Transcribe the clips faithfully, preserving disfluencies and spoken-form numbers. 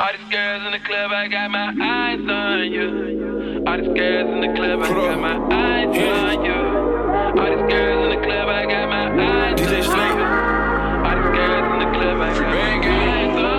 All these girls in the club, I got my eyes on you. All these girls in the club, I got my eyes on you. All these girls in the club, I got my eyes on you. All these girls in the club, I got my eyes on you.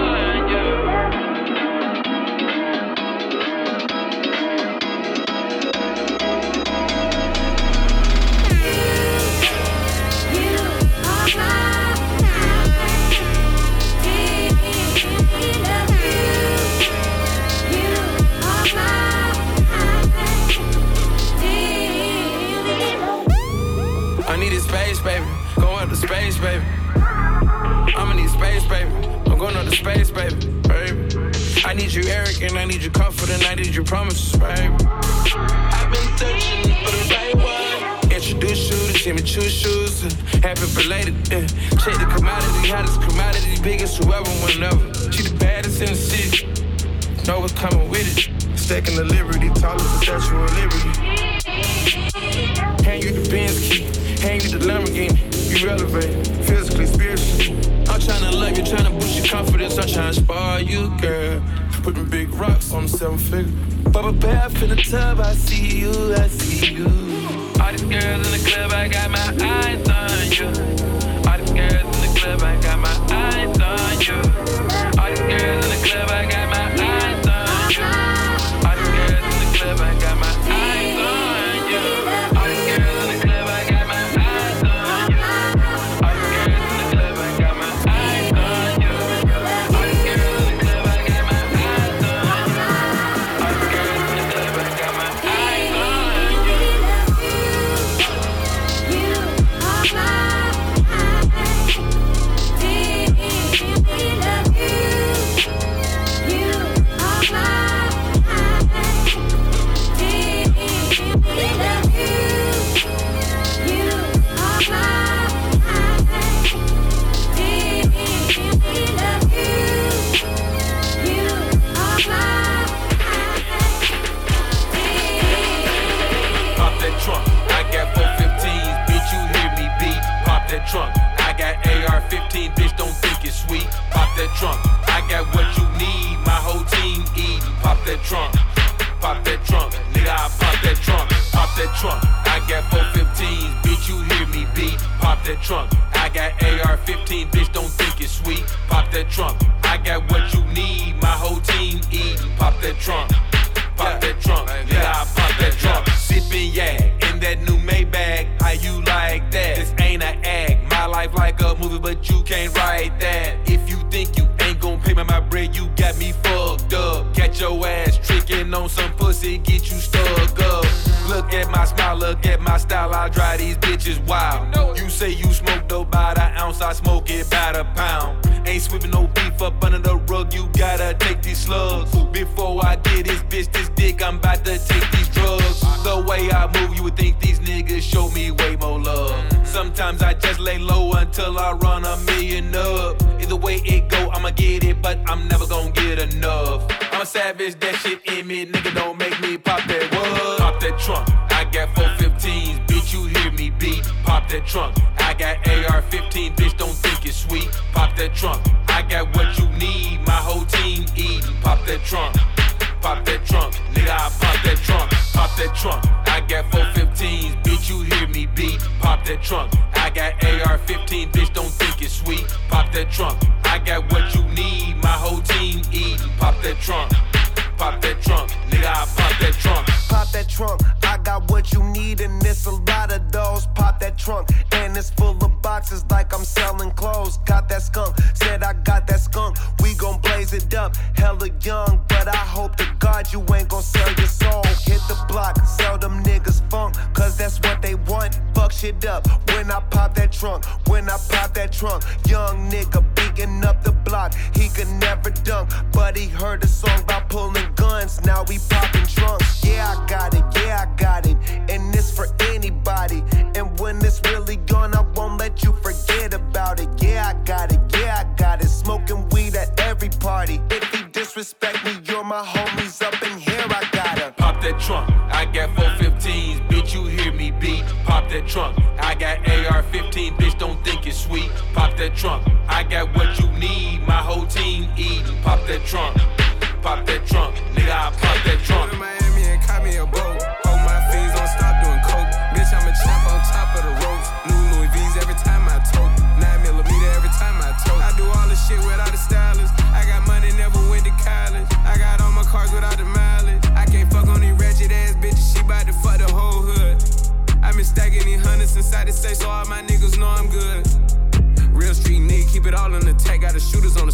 Baby, go up to space, baby. I'ma need space, baby. I'm going up to space, baby. Baby, I need you arrogant, I need you confident, I need you promises, baby. I've been searching for the right one. Introduce you to Jimmy Choo shoes and happy belated. Yeah. Check the commodity, hottest commodity, biggest whoever, whenever. She the baddest in the city. Know what's coming with it. Stacking the liberty, tallest the Statue of Liberty. Hand you the Benz key. Hang you the Lamborghini, you elevate, physically, spiritually. I'm tryna love you, tryna boost your confidence, I'm tryna spoil you, girl. Putting big rocks on the seven figure. Bubble bath in the tub, I see you, I see you. All these girls in the club, I got my eyes on you. All these girls in the club, I got my eyes on you. All these girls in the club, I got my eyes on you. All these girls in the club, I got my eyes on you. Trunk. I got A R fifteen, bitch, don't think it's sweet. Pop that trunk. I got what you need, my whole team eating. Pop that trunk. Pop that trunk. Nigga, I pop that trunk. Pop that trunk. I got four fifteens, bitch, you hear me beat. Pop that trunk. I got A R fifteen, bitch, don't think it's sweet. Pop that trunk. I got what you need, my whole team eating. Pop that trunk. Pop that trunk. Nigga, I pop that trunk. Sippin' yak in that new Maybach. How you like that? This ain't an act. My life like a movie, but you can't write that. If you think you ain't gon' pay me my bread, you got me fucked up. Catch your ass tricking on some pussy, get you stuck up. Look at my smile, look at my style, I drive these bitches wild. You say you smoke dope by the ounce, I smoke it by the pound. Ain't sweeping no beef up under the rug, you gotta take these slugs. Before I get this bitch this dick, I'm about to take these drugs. The way I move, you would think these niggas show me way more love. Sometimes I just lay low until I run a million up. Either way it go, I'ma get it, but I'm never gon' get enough. I'm a savage, that shit in me, nigga, don't make me pop that wood. Pop that trunk, I got four fifteens, bitch, you hear me beat. Pop that trunk, I got A R fifteen, bitch, don't think it's sweet. Pop that trunk, I got what you need, my whole team eating. Pop that trunk, pop that trunk, nigga, I pop that trunk. Pop that trunk, I got four fifteens, bitch, you hear me beat. Pop that trunk, I got A R fifteen, bitch, don't think it's sweet. Pop that trunk, I got what you need, my whole team eating. Pop that trunk, pop that trunk, nigga, I pop that trunk. Pop that trunk, I got what you need, and it's a lot of those. Pop that trunk, and it's full of boxes like I'm selling clothes. Got that skunk, said I got that skunk. We gon' blaze it up, hella young, but I hope to God you ain't gon' sell your soul. Hit the block, sell them niggas funk, cause that's what they want. Fuck shit up when I pop that trunk, when I pop that trunk. Young nigga beating up the block, he could never dunk, but he heard a song about pulling guns, now we popping trunks. Yeah, I got it, yeah, I got it, and this for anybody. And when it's really good,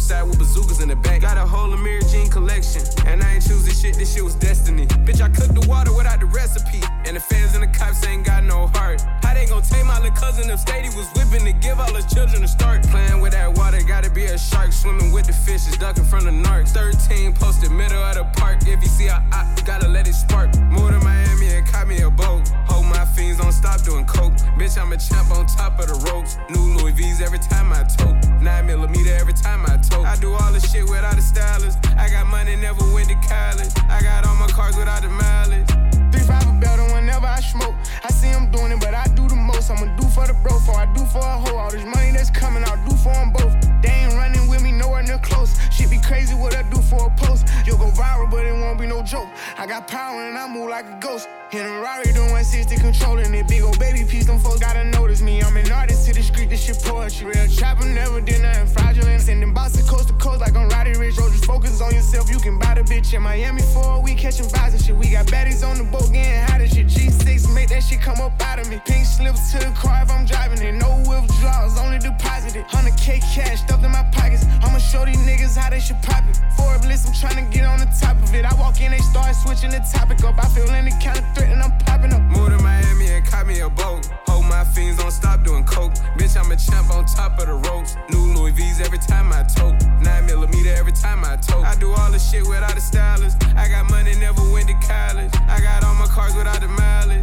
outside with bazookas in the back. Got a whole Amir Jean collection, and I ain't choose this shit, this shit was destiny. Bitch, I cooked the water without the recipe, and the fans and the cops ain't got no heart. How they gon' take my little cousin upstate? He was whipping to give all his children to start. Playing with that water, gotta be a shark. Swimming with the fishes, ducking from the narcs. thirteen posted middle of the park. If you see a op, you gotta let it spark. Moved to Miami and caught me a boat. Hold my fiends, don't stop doing coke. Bitch, I'm a champ on top of the ropes. New Louis V's every time I tote. Nine millimeter every time I tote. I do all the shit without a stylist. I got money, never went to college. I got all my cars without the mileage. Three five a belt whenever I smoke. I see him doing it, but I do the most. I'ma do for the bro, for I do for a hoe. All this money that's coming, I'll do for them both. They ain't running with me, nowhere near close. Shit be crazy what I do for a post. You'll go viral, but it won't be no joke. I got power and I move like a ghost. In a Rari doing one sixty, controlling it. Big old baby piece, them folks gotta notice me. I'm an artist to the street, this shit poetry. Real trapper, never did nothing fraudulent. Sending boxes coast to coast like I'm Roddy Rich. Or just focus on yourself, you can buy the bitch in Miami for a week, catching vibes and shit. We got baddies on the boat, getting hot and shit. G six, make that shit come up out of me. Pink slips to the car if I'm driving it. No withdrawals, only deposited. one hundred K cash stuffed in my pockets. I'ma show these niggas how they should pop it. Forbes list, I'm trying to get on the top of it. I walk in, they start switching the topic up. I feel any kind of threat and I'm popping up. Moved to Miami and caught me a boat. Hold my fiends, don't stop doing coke. Bitch, I'm a champ on top of the ropes. New Louis V's every time I tote. Nine millimeter every time I tote. I do all the shit without a stylist. I got money, never went to college. I got all my cars without the mileage.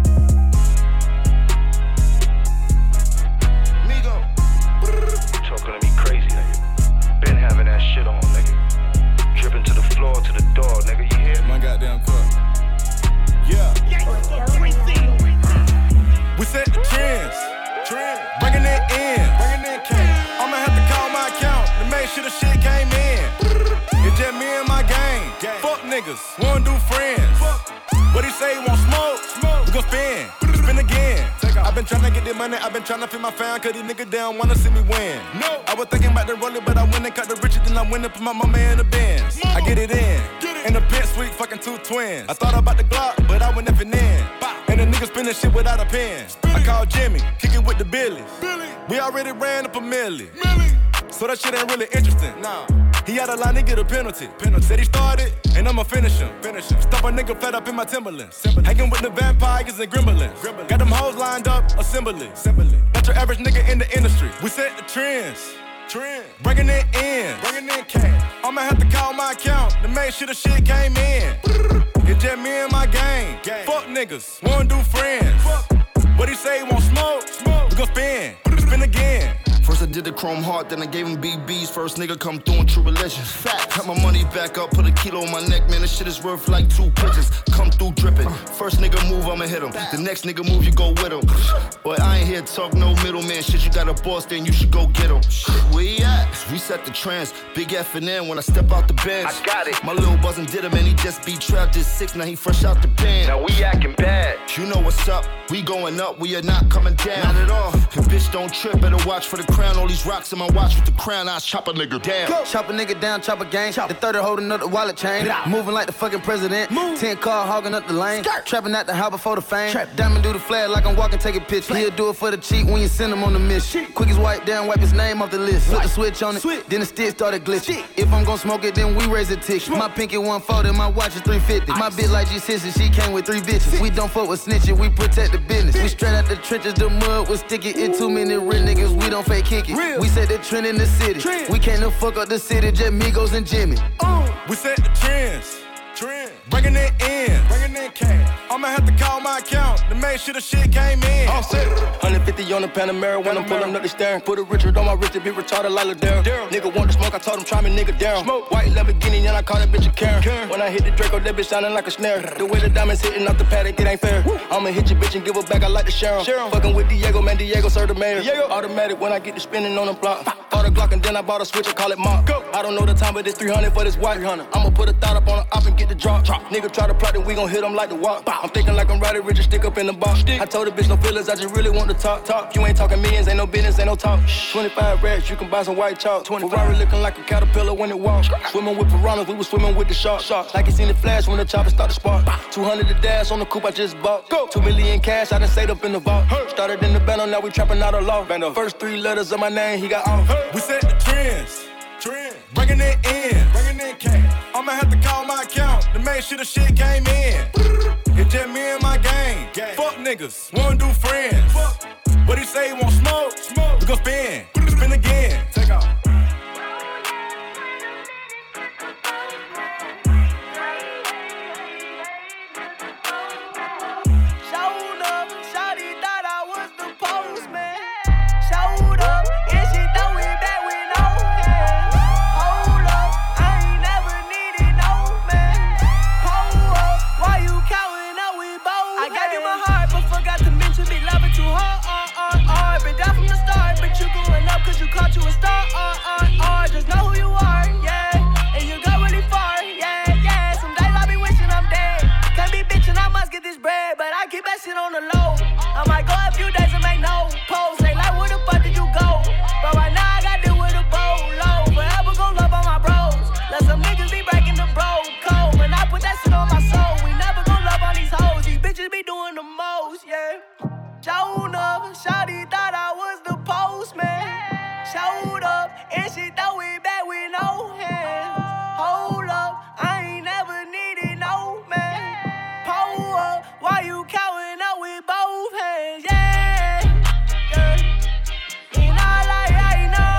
Migo, you talking to me crazy, nigga. Been having that shit on, nigga. Dripping to the floor, to the door, nigga. You hear? My goddamn car. Yeah. We set the trends, trends. Bringing it in, bringing it in. I'ma have to call my account to make sure the shit came in. It's just me and my gang. Fuck niggas, wanna do friends. What he say, he want smoke? Smoke. We gon' spin, spin again. I've been tryna get this money, I've been tryna feed my fan, cause these niggas down wanna see me win. No. I was thinking about the roller, but I went and cut the riches, then I went and put my mama in the Benz. I get it in, get it. In the pit suite, fucking two twins. I thought about the Glock, but I went nothing in. Bow. And the niggas spinning shit without a pen. Spin. I called Jimmy, kicking with the Billies. Billy. We already ran up a milli. Millie. So that shit ain't really interesting. Nah. He had a line to get a penalty. penalty. Said he started, and I'ma finish him. Finish him. Stop a nigga flat up in my Timberlands. Timberland. Hanging with the vampires and gremlins. Gremlins. Got them hoes lined up, assembly. assembly. Not your average nigga in the industry. We set the trends. Trend. Bringing it in. Bringing in cash. I'ma have to call my account to make sure the shit came in. It's just me and my gang. gang. Fuck niggas, wanna do friends. Fuck. What he say, he want smoke? Smoke. We gon' spin, spin again. First I did the chrome heart, then I gave him B Bs. First nigga come through in true religion. Got my money back up, put a kilo on my neck, man. This shit is worth like two pitches. Come through dripping. First nigga move, I'ma hit him. The next nigga move, you go with him. But I ain't here to talk no middleman shit. You got a boss, then you should go get him. Where he at? We set the trends. Big F and N when I step out the bench. I got it. My little buzzin' did him and he just be trapped at six. Now he fresh out the pen. Now we acting bad. You know what's up. We going up, we are not coming down. Not at all. And bitch don't trip, better watch for the crown. All these rocks in my watch with the crown, I chop a nigga down. Go. Chop a nigga down, chop a gang. Chop. The thirty holding up the wallet chain. Moving like the fucking president. Move. Ten car hogging up the lane. Skirt. Trapping at the house before the fame. Trap. Diamond do the flag like I'm walking, taking pictures. He'll do it for the cheat when you send him on the mission. Quick as wipe down, wipe his name off the list. Flip the switch on it, Switch. Then the stick started glitching. If I'm gon' smoke it, then we raise a ticket. Smoke. My pinky one forty, my watch is three fifty. Ice. My bitch like G sixty, she came with three bitches. Six. We don't fuck with snitching, we protect the business. Bitch. We straight out the trenches, the mud was sticky. It too many real niggas, we don't fake kick it. Real. We set the trend in the city. Trend. We can't no fuck up the city, just Migos and Jimmy. Uh. We set the trends. Trend. Bringing it in. Bringing in cash. I'ma have to call my account to make sure the shit came in. All set. one fifty on the Panamera when I'm pulling up the steering. Put a Richard on my wrist to be retarded like Ladera. Nigga want to smoke, I told him try me, nigga down. Smoke. White Lamborghini and I call that bitch a Karen. Karen. When I hit the Draco, that bitch sounding like a snare. The way the diamonds hitting off the paddock, it ain't fair. Woo. I'ma hit your bitch and give her back, I like to share 'em. Share 'em. Fucking with Diego, man, Diego serve the mayor. Diego. Automatic when I get to spinning on the block. Bought a Glock and then I bought a switch and call it Mark. Go. I don't know the time, but it's three hundred for this white. I'ma put a thought up on the op and get the drop. drop. Nigga try to plot it, we gon' hit him like the walk. I'm thinking like I'm Roddy Rich, stick up in the box. Stick. I told the bitch no feelings, I just really want to talk. Talk. You ain't talking millions, ain't no business, ain't no talk. twenty-five racks, you can buy some white chalk. Ferrari looking like a caterpillar when it walks. Swimming with piranhas, we was swimming with the sharks. Sharks. Like you seen the flash when the chopper start to spark. two hundred the dash on the coupe I just bought. Go. Two million cash, I done saved up in the vault. Hey. Started in the bando, now we trapping out of law. Bando. First three letters of my name, he got off. Hey. We set the trends. Trend, bringing it in, bringing in cash. I'ma have to call my account to make sure the shit came in. It's just me and my gang. Fuck niggas, wanna do friends. What he say, he want smoke? Smoke. We gon' spin, spin again. Take off. Caught you a star, uh, uh, uh, just know who you are, yeah. And you go really far, yeah, yeah. Some days I be wishing I'm dead. Can't be bitching, I must get this bread, but I keep that shit on the low. I might go a few days and make no post. They like, where the fuck did you go? But right now I got deal with a bowl low. Forever gon' love on my bros. Let some niggas be breaking the bro code. When I put that shit on my soul, we never gon' love on these hoes. These bitches be doing the most, yeah. Showed up, shawty thought I was the postman. Showed up, and she throw it back with no hands. Hold up, I ain't never needed no man. Pull up, why you counting up with both hands? Yeah, yeah. And all I, I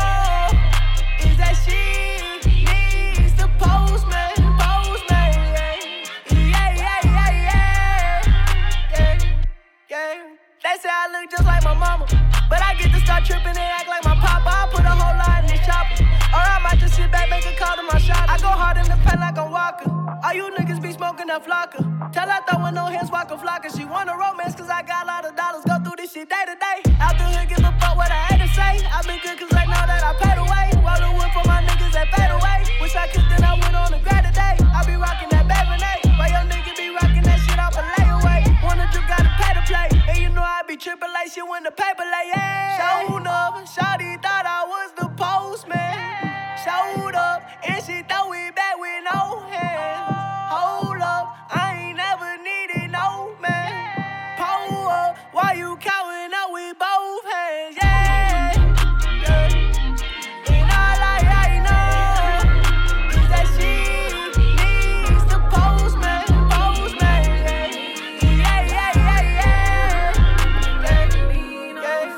know is that she needs the postman, postman. Yeah, yeah, yeah, yeah, yeah, yeah. They say I look just like my mama, but I get to start tripping and act like my papa. I put a whole lot in this chopper, or I might just sit back, make a call to my shop. I go hard in the pen like I'm Walker. All you niggas be smoking that flocker. Tell her throwing no hands, walk a flocker. She want a romance cause I got a lot of dollars. Go through this shit day to day. Out the hood, give a fuck what I had to say. I been good cause they know that I paid away. Roll the wood for my niggas that fade away. Wish I could, then I went on a grad today. I be rocking that Baby Why your nigga be rocking that shit off a layaway? Wanna drip, gotta pay to play. And you know I be triple A shit when the paper lay, yeah. Showed up, shawty thought I was the postman. Showed up, and she throw it back with no hands. Hold up, I ain't never needed no man. Pull up, why you counting up with both hands, yeah, yeah. And all I, I know is that she needs the postman, postman, yeah, yeah, yeah, yeah, yeah, yeah.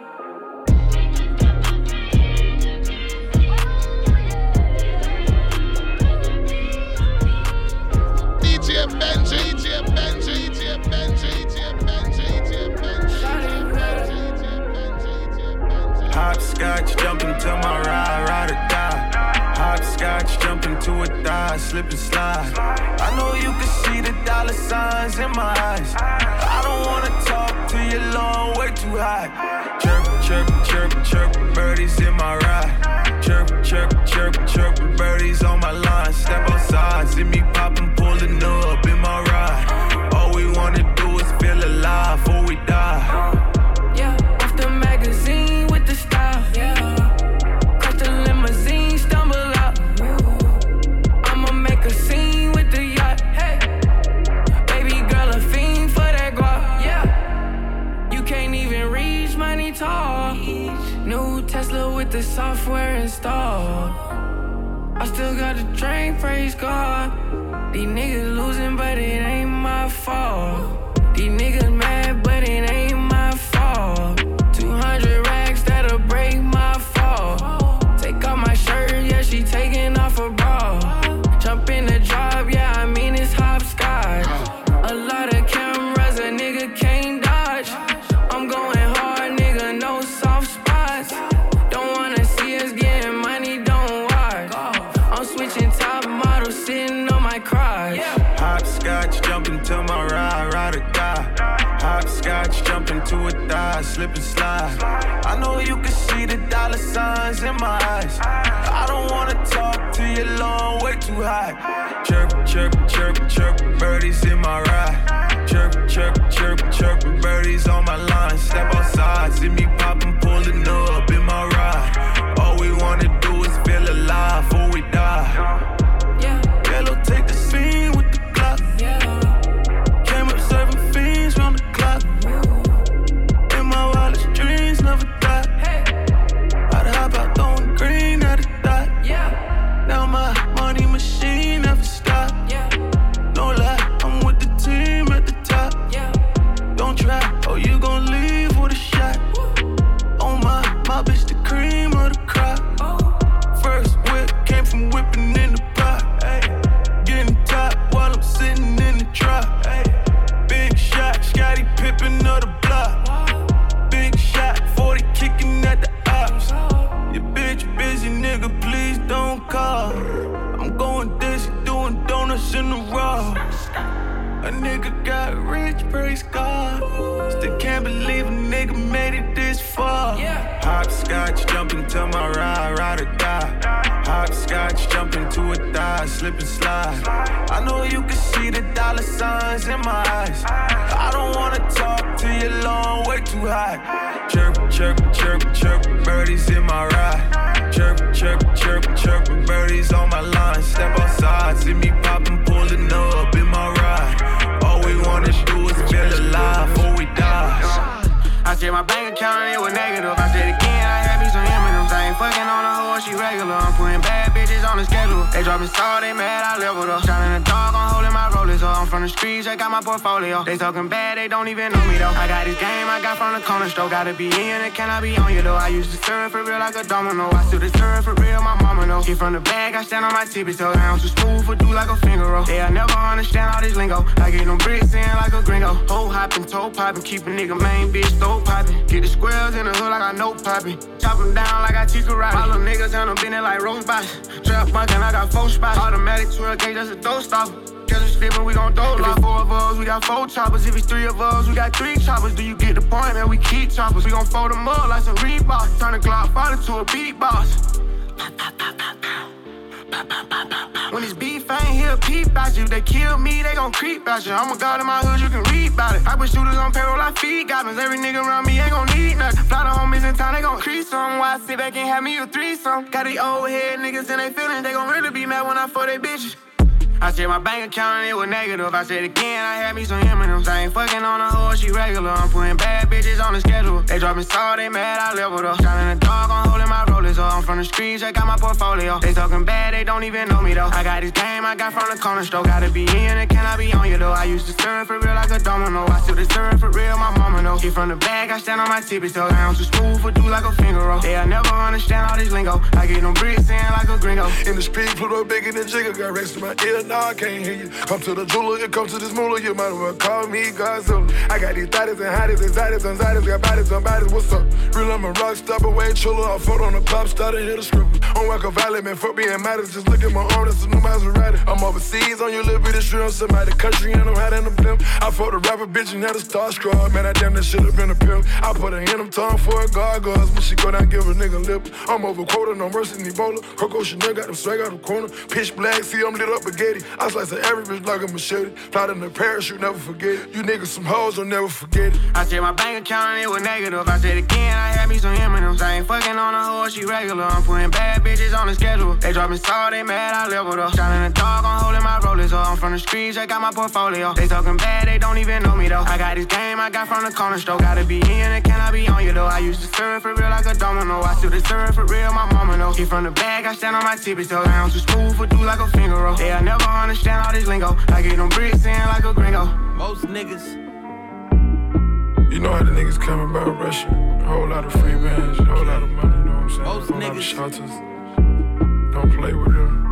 D J Benji, D J Benji, D J Benji, D J Benji, D J Benji. Hopscotch, jump into my ride, ride or die. Hopscotch, jump into a thigh, slip and slide. I know you can see the dollar signs in my eyes. I don't wanna talk to you long, way too high. Chirp, chirp, chirp, chirp, birdies in my ride. Chirp, chirp, chirp, chirp, birdies on my line. Step outside, see me poppin', pullin' up in my ride. All we wanna do is feel alive before we die. Yeah, off the magazine with the style. Yeah, caught the limousine, stumble out. I'ma make a scene with the yacht. Hey, baby girl, a fiend for that guap. Yeah, you can't even reach money tall. New Tesla with the software installed. I still got the train, praise God. These niggas losing, but it ain't my fault. These niggas mad, but it ain't my fault. two hundred racks that'll break my fall. Take off my shirt, yeah, she taking off her bra. Jump in the drop, yeah, I mean it's hopscotch. A lot of cameras, a nigga can't dodge. I'm going hard, nigga, no soft spots. Don't wanna see us getting money, don't watch. I'm switching top models, sitting on my crotch. Hopscotch, jump into my ride, ride or die. Hopscotch, jump into a thigh, slip and slide. I know you can see the dollar signs in my eyes. I don't wanna talk to you long, way too high. Chirp, chirp, chirp, chirp, birdies in my ride. Chirp, chirp, chirp, chirp, birdies on my line. Step outside, see me poppin', pullin' up in my ride. All we wanna do is feel alive before we die. Yeah, Yellow, take the scene with the clock. yeah, Came up serving fiends round the clock. In my wildest dreams never die. hey, I'd hop out throwing green at the dot. yeah. nigga got rich, praise God. Still can't believe a nigga made it this far. Yeah. Hopscotch, jump into my ride, ride or die. Hopscotch, jump into a thigh, slip and slide. I know you can see the dollar signs in my eyes. I don't wanna talk to you long, way too high. Chirp, chirp, chirp, chirp, birdies in my ride. Chirp, chirp, chirp, chirp, birdies on my line. Step outside, see me poppin', pullin' up in my ride. All we wanna do is feel alive before we die. I checked my bank account and it was negative. I said again, I had me some M and M's. I ain't fucking on a hoe, she regular. I'm putting bad bitches on the schedule. They dropping salt, they mad, I leveled up. Shining the dog, I'm holding my rollers up. I'm from the streets, check out my portfolio. They talking bad, they don't even know me though. I got this game, I got from the corner store. Gotta be in it, can I be on you though? I used to serve for real like a domino. I still serve for real, my mama know. Get from the bag, I stand on my tippy toes. I am too smooth for do like a finger roll. They'll never understand all this lingo. I get them bricks in like a gringo. Hoe hopping, toe popping, keep a nigga main bitch, throw popping. Get the squares in the hood like I know popping. Chop them down like I teach karate. My little niggas and them bending like rose box. Trap bunkin', I got four spots. Automatic twelve gauge, that's a throw stopper. Catch us slippin', we gon' throw lock. If it's four of us, we got four choppers. If it's three of us, we got three choppers. Do you get the point, man? We keep choppers. We gon' fold them up like some Reeboks. Turn the Glock fighter to a beatbox. When it's beef, I ain't here peep out you. They kill me, they gon' creep out you. I'm a god in my hood, you can read about it. I put shooters on payroll, I feed goblins. Every nigga around me ain't gon' need nothing. Fly the homies in town, they gon' crease some. Why I sit back and have me a threesome? Got these old head niggas in they feelings, they gon' really be mad when I fuck they bitches. I checked my bank account and it was negative. I said again, I had me some M and M's. I ain't fucking on a hoe, she regular. I'm putting bad bitches on the schedule. They dropping salt, they mad, I leveled up. Shining the dog, I'm holding my rollers up. I'm from the streets, check out my portfolio. They talking bad, they don't even know me though. I got this game, I got from the corner store. Gotta be in it, can I be on you though? I used to serve for real like a domino. I still serve for real, my mama know. Get from the bag, I stand on my tippy toes. I am too smooth for do like a finger roll. They'll never understand all this lingo. I get them bricks in like a gringo. In the street, Pluto bigger than Jigga. Got racks to my ear, nah, I can't hear you. Come to the jeweler, you come to this moolah, you might as well call me Godzilla. I got these thotties and hotties, anxieties, anxieties, got bodies and bodies, what's up? Real, I'm a rock star, but way chiller. I fought on the pop star, and hit a stripper. On Wacko Valley, man, fuck being matters. Just look at my arm, that's a new Maserati. I'm overseas on your little bitty shrimp. Somebody country and I'm hiding the blimp. I fought a rapper bitch and had a starstruck. Man, I damn that should've been a pimp. I put her in them tongue for a gargoyle. When she go down, give a nigga lip. I'm over quota, no mercy, in Ebola. Coco Chanel got them swag out the corner. Pitch black, see I'm lit up spaghetti. I slice of every bitch like a machete. Fly in the parachute, never forget it. You niggas some hoes, don't never forget it. I checked my bank account and it was negative. I said again, I had me some M and M's. I ain't fucking on a hoe, she regular. I'm putting bad bitches on the schedule. They dropping salt, they mad, I leveled up. Shining the dog, I'm holding my rollers up. I'm from the streets, check out my portfolio. They talking bad, they don't even know me though. I got this game, I got from the corner store. Gotta be in it, can I be on you though? I used to serve for real like a domino. I still serve for real, my mama know. Get from the bag, I stand on my tippy toes. I am too smooth for do like a finger roll. They'll never understand all this lingo. I get them bricks in like a gringo. Most niggas. You know how the niggas come about rushing. A whole lot of free bands, a whole lot of money, you know what I'm saying? Most a whole niggas. lot of shelters. Don't play with them.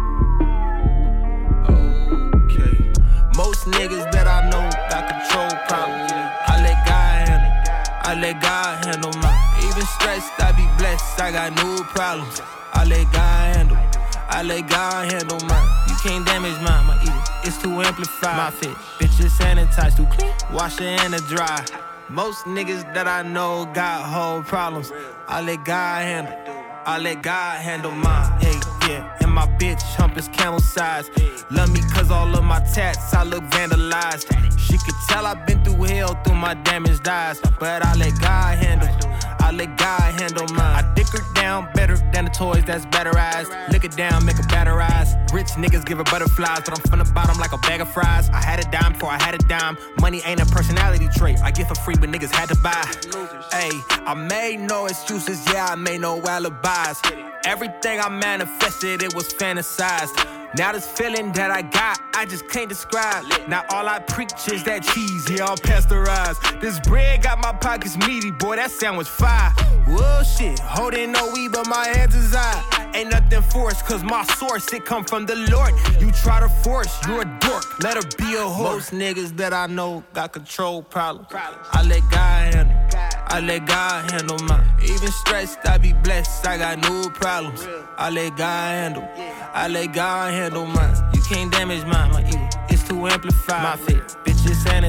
Okay. Most niggas that I know got control problems. I let God handle. I let God handle mine. Even stressed, I be blessed. I got no problems. I let God handle. I let God handle mine. You can't damage mine, my ego. It's too amplified. My fit, bitches sanitized, too clean. Wash it in the dry. Most niggas that I know got whole problems. I let God handle. I let God handle mine. Hey, yeah. And my bitch hump is camel size. Love me cause all of my tats, I look vandalized. She could tell I've been through hell through my damaged eyes. But I let God handle. I let God handle mine. I dick her down better than the toys that's batterized. Lick it down, make her batterize. Rich niggas give her butterflies, but I'm from the bottom like a bag of fries. I had a dime before I had a dime. Money ain't a personality trait. I get for free, but niggas had to buy. Hey, I made no excuses, yeah, I made no alibis. Everything I manifested, it was fantasized. Now this feeling that I got, I just can't describe. Now all I preach is that cheese, yeah, I'm pasteurized. This bread got my pockets meaty, boy, that sandwich fire. Whoa, shit, holding no weed, but my hands is eye. Ain't nothing forced, cause my source, it come from the Lord. You try to force, you're a dork, let her be a whore. Most niggas that I know got control problems. I let God handle. I let God handle mine. Even stressed, I be blessed, I got no problems. I let God handle. I let God handle mine. You can't damage mine, my ego. It's too amplified. My fit, bitches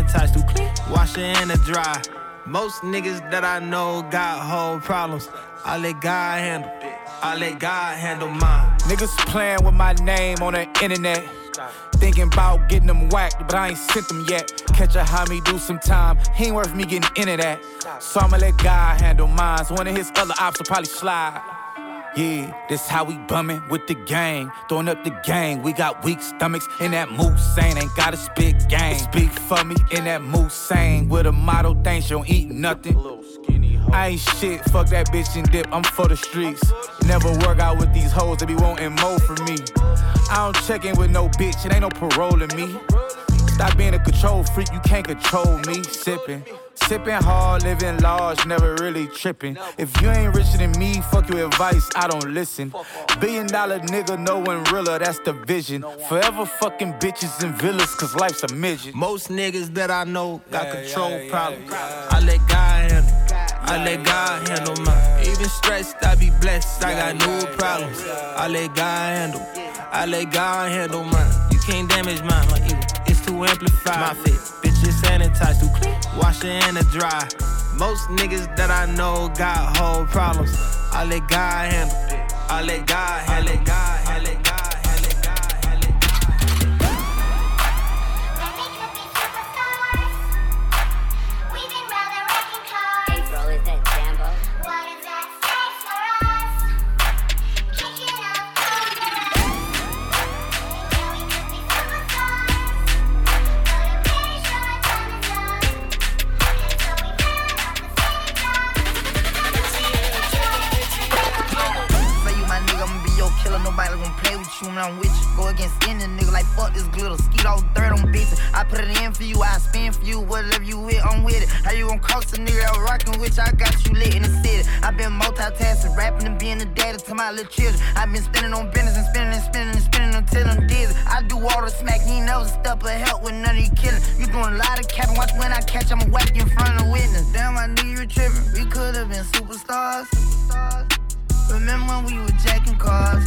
sanitize too clean. Wash it in the dry. Most niggas that I know got whole problems. I let God handle. I let God handle mine. Niggas playing with my name on the internet. Thinking about getting them whacked, but I ain't sent them yet. Catch a homie, do some time. He ain't worth me getting into that. So I'ma let God handle mine. So one of his other ops will probably slide. Yeah, this how we bummin' with the gang. Throwing up the gang. We got weak stomachs in that moose saying ain't got a spit gang. Speak for me in that moose saying with a motto thing, she don't eat nothing. I ain't shit, fuck that bitch and dip, I'm for the streets. Never work out with these hoes, they be wanting more from me. I don't check in with no bitch, it ain't no parole in me. Stop being a control freak, you can't control me. Sippin', sippin' hard, living large, never really trippin'. If you ain't richer than me, fuck your advice, I don't listen. Billion dollar nigga, no one realer, that's the vision. Forever fucking bitches and villas, cause life's a midget. Most niggas that I know got yeah, control yeah, problems. Yeah, I let God handle. I let God handle mine. Even stressed, I be blessed. I got new problems. I let God handle. I let God handle mine. You can't damage mine, my ego. It's too amplified. My fit, bitches sanitized too clean. Wash it in the dry. Most niggas that I know got whole problems. I let God handle. I let God handle. I let God. I let God. Nobody gon' play with you when I'm with you. Go against any nigga like fuck this glitter. Skeet all dirt on bitches. I put it in for you, I spin for you. Whatever you with, I'm with it. How you gon' cross a nigga that rockin' with you? I got you lit in the city. I been multitasking, rapping and being the daddy to my little children. I been spinning on business and spinning and spinning and spinning until I'm dizzy. I do all the smack, you ain't never step or help with none of you killing. You doing a lot of capping, watch when I catch, I'ma whack you in front of the witness. Damn, I knew you were tripping. We could've been superstars. Remember when we were jacking cars?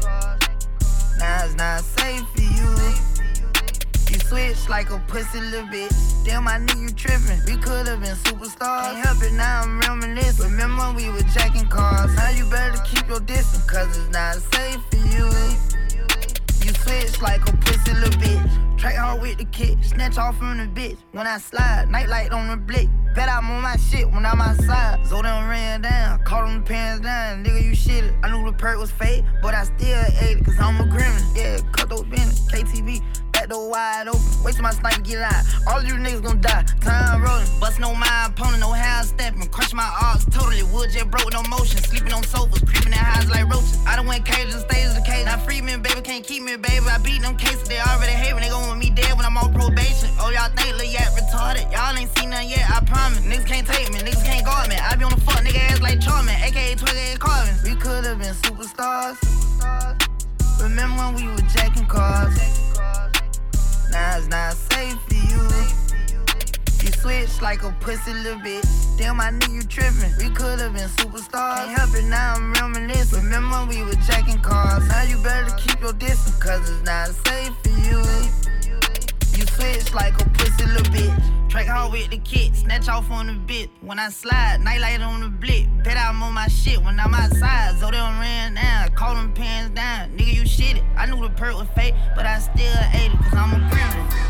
Now it's not safe for you. You switch like a pussy little bitch. Damn, I knew you tripping. We could've been superstars. Can't help it, now I'm reminiscing. Remember when we were jacking cars? Now you better keep your distance, cause it's not safe for you. You switch like a pussy little bitch. Track hard with the kick, snatch off from the bitch. When I slide, nightlight on the blick. Bet I'm on my shit when I'm outside. So them ran down, caught them pants down. Nigga, you shitted. I knew the perk was fake, but I still ate it, cause I'm a gremlin. Yeah, cut those business, K T V. Back door wide open, wait till my sniper get out. All of you niggas gon' die, time rolling. Bustin' on my opponent, no hands stepping. Crush my arms totally, wood jet broke, no motion. Sleeping on sofas, creeping in highs like roaches. I done went cages and stages the cage. Now free me, baby, can't keep me, baby. I beat them cases, they already hate me. They gon' want me dead when I'm on probation. Oh, y'all think Lil Yak retarded? Y'all ain't seen none yet, I promise. Niggas can't take me, niggas can't guard me. I be on the fuck nigga ass like Charmin, aka twenty-eight Carvin. We could've been superstars. Remember when we were jacking cars? Now it's not safe for you. You switch like a pussy little bitch. Damn, I knew you tripping. We could've been superstars. Can't help it, now I'm reminiscing. Remember when we were jacking cars? Now you better keep your distance, cause it's not safe for you. You switch like a pussy little bitch. Track hard with the kid, snatch off on the bit. When I slide, nightlight on the blick. Bet I'm on my shit when I'm outside. So they done ran down, call them pants down. Nigga, you shitted. I knew the perk was fake, but I still ate it, cause I'm a gremlin.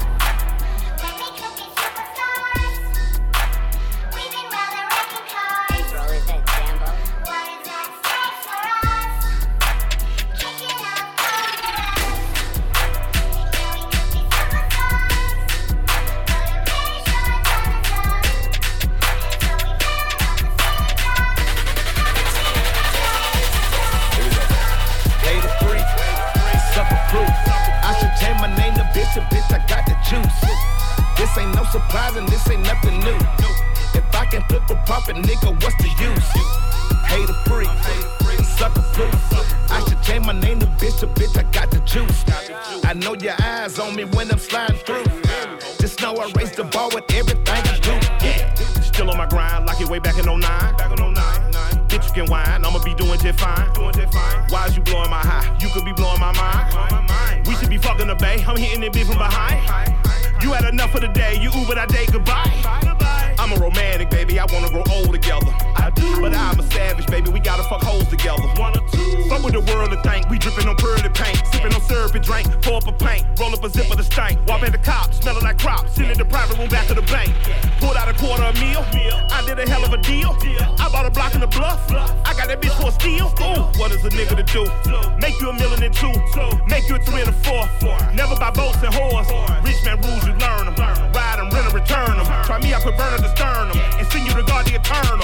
Bitch, I got the juice. This ain't no surprise and this ain't nothing new. If I can flip a profit, nigga, what's the use? Hater free, sucker proof. I should change my name to bitch, a bitch, I got the juice. I know your eyes on me when I'm sliding through. Just know I raise the ball with everything I do. Yeah. Still on my grind, like it way back in oh nine. Back in oh nine. Bitch, you can whine, I'ma be doing just fine. Doing just fine. Why is you blowing my high? You could be blowing my mind. We should be fucking the bay, I'm hitting it big from behind. You had enough for the day, you Ubered, I day goodbye. I'm a romantic, baby, I wanna grow old together. I do. But I'm a savage, baby, we gotta fuck hoes together. One or two. Fuck with the world to think, we dripping on pearly paint. Sipping on syrup and drink, pour up a pint. Roll up a zip of the stank. Walk at the cops, smelling like crops. Sit in the private room back of the bank. Pulled out a quarter a meal. I did a hell of a deal. I bought a block in the bluff. I got that bitch for a steal. Ooh, what is a nigga to do? Make you a million and two. Make you a three and a four. Never buy boats and whores. Rich man rules, you learn them. Ride them, rent them, return them. Try me, I put burner to stern them. And send you to God the eternal.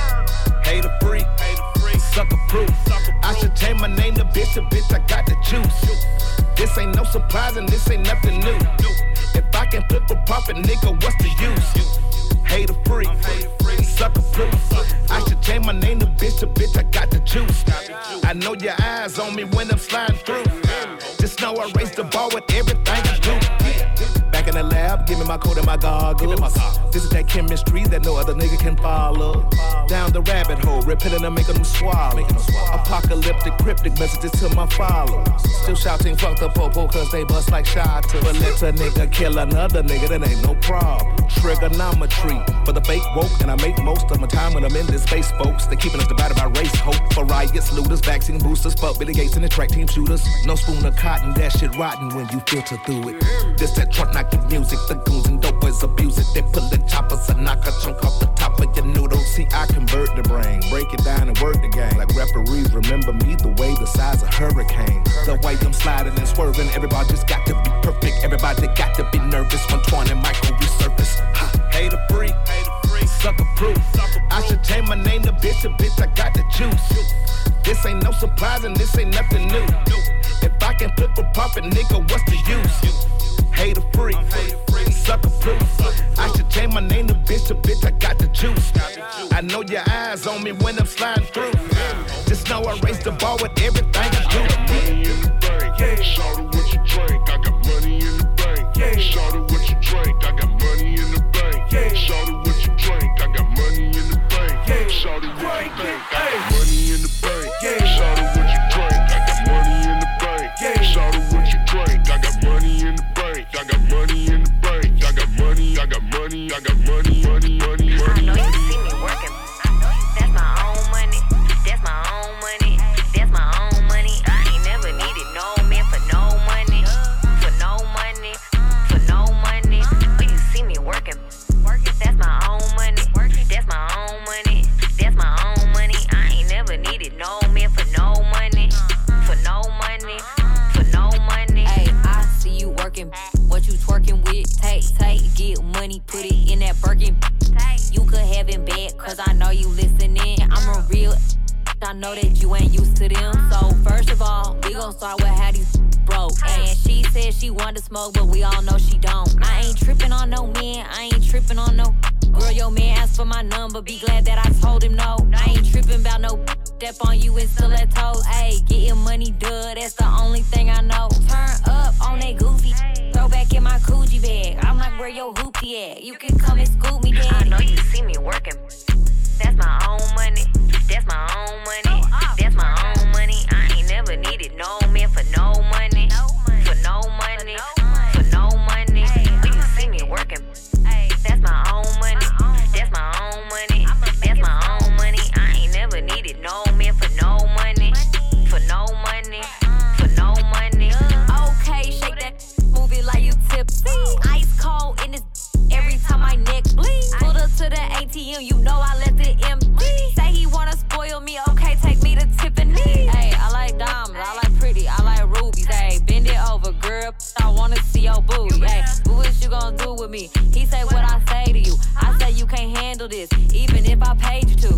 Hater free, sucker proof. I should change my name to bitch, a bitch, I got the juice. This ain't no surprise and this ain't nothing new. If I can flip a profit, nigga, what's the use? Hater free, sucker proof. I should change my name to bitch, a bitch, I got the juice. I know your eyes on me when I'm sliding through. Just know I raise the bar with everything I do. Back in the lab, give me my coat and my goggles. This is that chemistry that no other nigga can follow. Down the rabbit hole, repeating them, making them swallow. Apocalyptic, cryptic messages to my followers. Still shouting, fuck the popo, cause they bust like shotters. But let a nigga kill another nigga, that ain't no problem. Trigonometry for the fake woke, and I make most of my time when I'm in this space, folks. They keeping us divided by race, hope for riots, looters, vaccine boosters, fuck Billy Gates and the track team shooters. No spoon of cotton, that shit rotten when you filter through it. This that Trump knock the music, the goons and dope boys abuse it. They pull the choppers and knock a chunk off the top of your noodles. See, I convert the brain, break it down and work the game. Like referees, remember me the way the size of hurricane. The way I'm sliding and swerving, everybody just got to be perfect. Everybody got to be nervous. one twenty micro resurface. Ha, hater free, sucker proof. I should change my name to bitch, a bitch, I got the juice. This ain't no surprise and this ain't nothing new. If I can flip a profit, nigga, what's the use? Hater free, sucker proof. I should change my name to bitch, a bitch, I got the juice. I know your eyes on me when I'm sliding through. Just know I raise the bar with everything I do. Money in the bank, shout out what you drink. I got money in the bank. Shout out what you drink. I got money in the bank. Shout out what you drink. I got money in the bank. Shout out what you think. I got money in the bank. Shout out what you drink. I got money in the bank. Shout out what you drink. I got money in the bank. I got money in the bank. I got money. I got money. I got money. Money. Money. Money. I know you see me working. That's my own money. That's my own money. That's my own money. I ain't never needed no man for no money. For no money. For no money. When you see me working. That's my own money. That's my own money. That's my own money. I ain't never needed no man for no money. For no money. For no money. Hey, I see you working. What you twerking with? Take, take, get money, put it in that Birkin. You could have it back, cause I know you listening. I'm a real, I know that you ain't used to them. So first of all, we gon' start with how these broke. And she said she wanted to smoke, but we all know she don't. I ain't tripping on no man, I ain't tripping on no. Girl, your man asked for my number, be glad that I told him no. I ain't tripping about no step on you and stilettos. Ayy, getting money, duh, that's the only thing I know. Turn up on that goofy, throw back in my Coogi bag. I'm like, where your hoopty at? You can come and scoop me, daddy. I know you see me working. That's my own money. That's my own money. That's my own money. I ain't never needed no man for no money. For no money. For no money. When you see me working. That's my own money. That's my own money. That's my own money. I ain't never needed no man for no money. For no money. For no money. Okay, shake that, move it like you tipsy. Ice cold in this every time my neck bleed. Pulled up to the A T M, you know I let it empty. Say he wanna spoil me, okay, take me to Tiffany. Hey, I like diamonds, I like pretty, I like rubies. Hey, bend it over, girl, I wanna see your booty. Hey, what you gonna do with me? He say what I say to you. I say you can't handle this, even if I paid you to.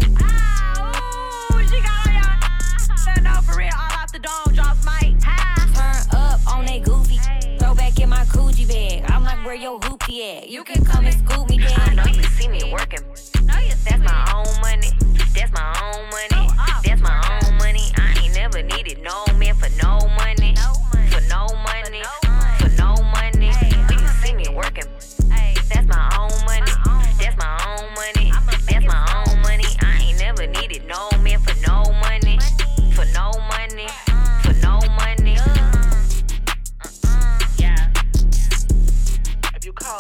Ooh, she got on y'all. No, for real, all off the dome, drops mic. Turn up on that goofy, throw back in my Coogi bag. I'm like, where your hoopty at? You can come and scoop me, daddy. I know you see me working. That's my own money. That's my own money. That's my own money. I ain't never needed no man for no money. For no money. For no money. When you see me working. That's my own money. That's my own money. That's my own money. I ain't never needed no man for no money. For no money. For no money. Yeah. If you call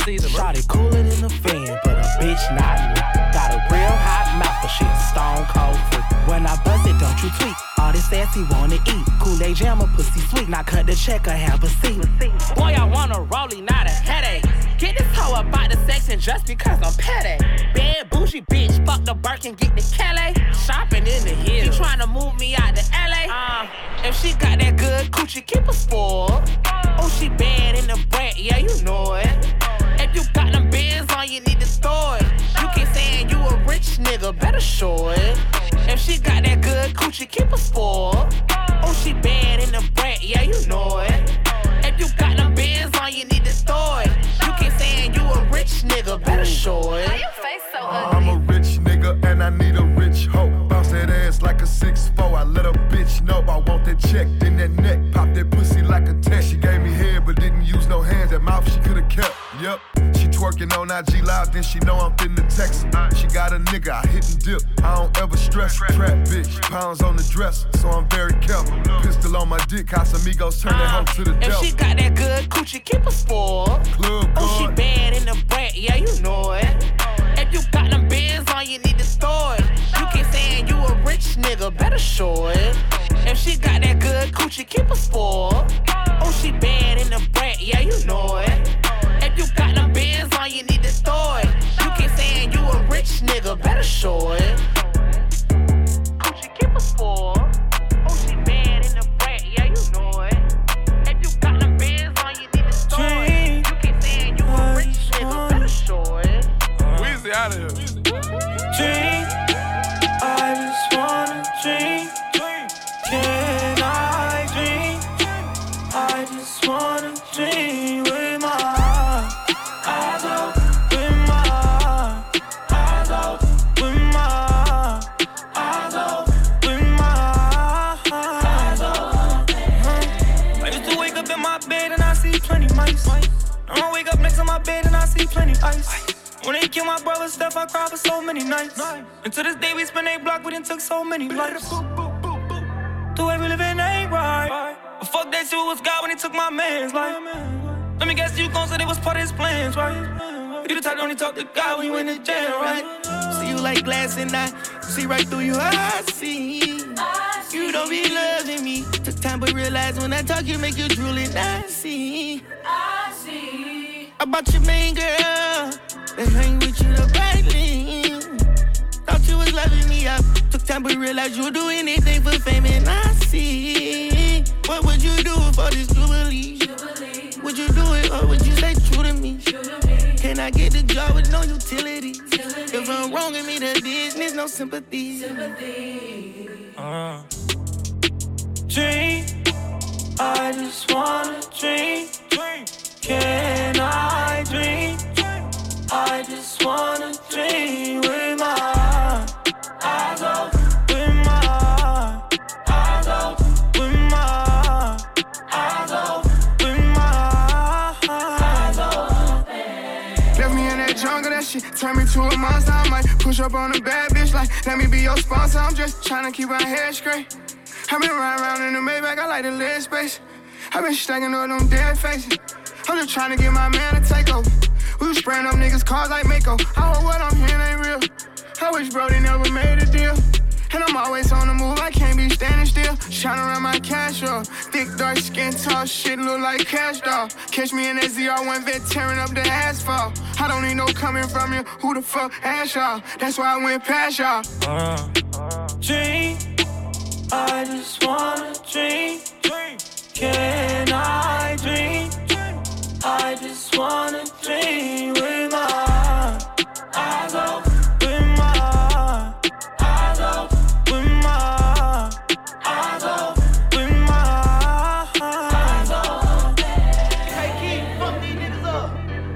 season, bro. Shawty cooler than a fan, but a bitch not me. Got a real hot mouth, but shit stone cold free. When I buzz it, don't you tweak. All this sassy wanna eat. Kool-Aid jammer, pussy sweet. Now cut the check or have a seat. Boy, I want a rollie, not a headache. Get this hoe about the sex and just because I'm petty. Bad bougie bitch, fuck the Birkin, get the Kelly. Shopping in the hills. She tryna move me out to L A. Uh, if she got that good coochie, keep her spoiled. Oh, she bad in the brat, yeah, you know it. If you got them bands on, you need to store it. You keep saying you a rich nigga, better show it. If she got that good coochie, keep her spoiled. Oh, she bad in the brat, yeah, you know it. If you got them bands on, you need to store it. You keep saying you a rich nigga, better show it. Why your face so ugly? I'm a rich nigga and I need a rich hoe. Bounce that ass like a six four. I let a bitch know I want that check. Then that neck, pop that pussy like a tech. She gave me head but didn't use no hands. That mouth she could've kept. Yep. She twerking on I G Live, then she know I'm finna text. She got a nigga, I hit and dip. I don't ever stress. Trap bitch, pounds on the dress, so I'm very careful. Pistol on my dick, Casamigos turn that hoe to the devil. If she got that good coochie, keep her spoiled. Club oh, she bad in the brat, yeah, you know it. If you got them bands on, you need to store it. You keep saying you a rich nigga, better show it. If she got that good coochie, keep her spoiled. Oh, she bad in the brat, yeah, you know it. If you got them bands on, you need to store it. You keep saying you a rich nigga, better show it. Coochie, keep her spoiled. Oh, she bad in the brat, yeah, you know it. If you got them bands on, you need to store it. You keep saying you a rich nigga, better show it. Weezy out of here. Dream, I just wanna dream. Can I dream? I just wanna dream with my eyes open, my eyes open, my eyes open, my eyes open. I used to wake up in my bed and I see plenty mice. I wake up next to my bed and I see plenty ice. When they killed my brother Steph, I cried for so many nights. And to this day we spend a block, we done took so many lives. The way we living ain't right. But fuck that shit was God when he took my man's life. Let me guess you gon' say it was part of his plans, right? You the type that only talk to God when you in the jail, right? See you like glass and I see right through you, I see. I see. You don't be loving me. Took time but realize when I talk you make you drool and I see. I see. About your main girl that hang with you the brightly. Thought you was loving me up. Took time but realized you'll do anything for fame and I see. What would you do for this jubilee? jubilee? Would you do it or would you stay true to me? True to me. Can I get the job with no utility? utility? If I'm wrong, give me the business, no sympathy. sympathy. Uh. Dream, I just wanna dream. dream. Can I dream? dream? I just wanna dream with my eyes open, with my eyes open, with my eyes open, with my eyes open. Left me in that jungle, that shit turned me to a monster. I might push up on a bad bitch like, let me be your sponsor. I'm just tryna keep my head straight. I've been riding around in the Maybach, I like the leg space. I've been stacking up them dead faces. I'm just tryna get my man to take over. We was spraying up niggas' cars like Mako. I hope what I'm hearing ain't real. I wish Brody never made a deal. And I'm always on the move, I can't be standing still. Shining around my cash up. Thick, dark skin, tall shit, look like cash doll. Catch me in that Z R one vet tearing up the asphalt. I don't need no coming from you, who the fuck ass y'all? That's why I went past y'all. Uh, dream, I just wanna dream. Can I dream? I just wanna dream with my eyes open, with my eyes open, with my eyes open, with my eyes open. Hey, Keith, fuck these niggas up.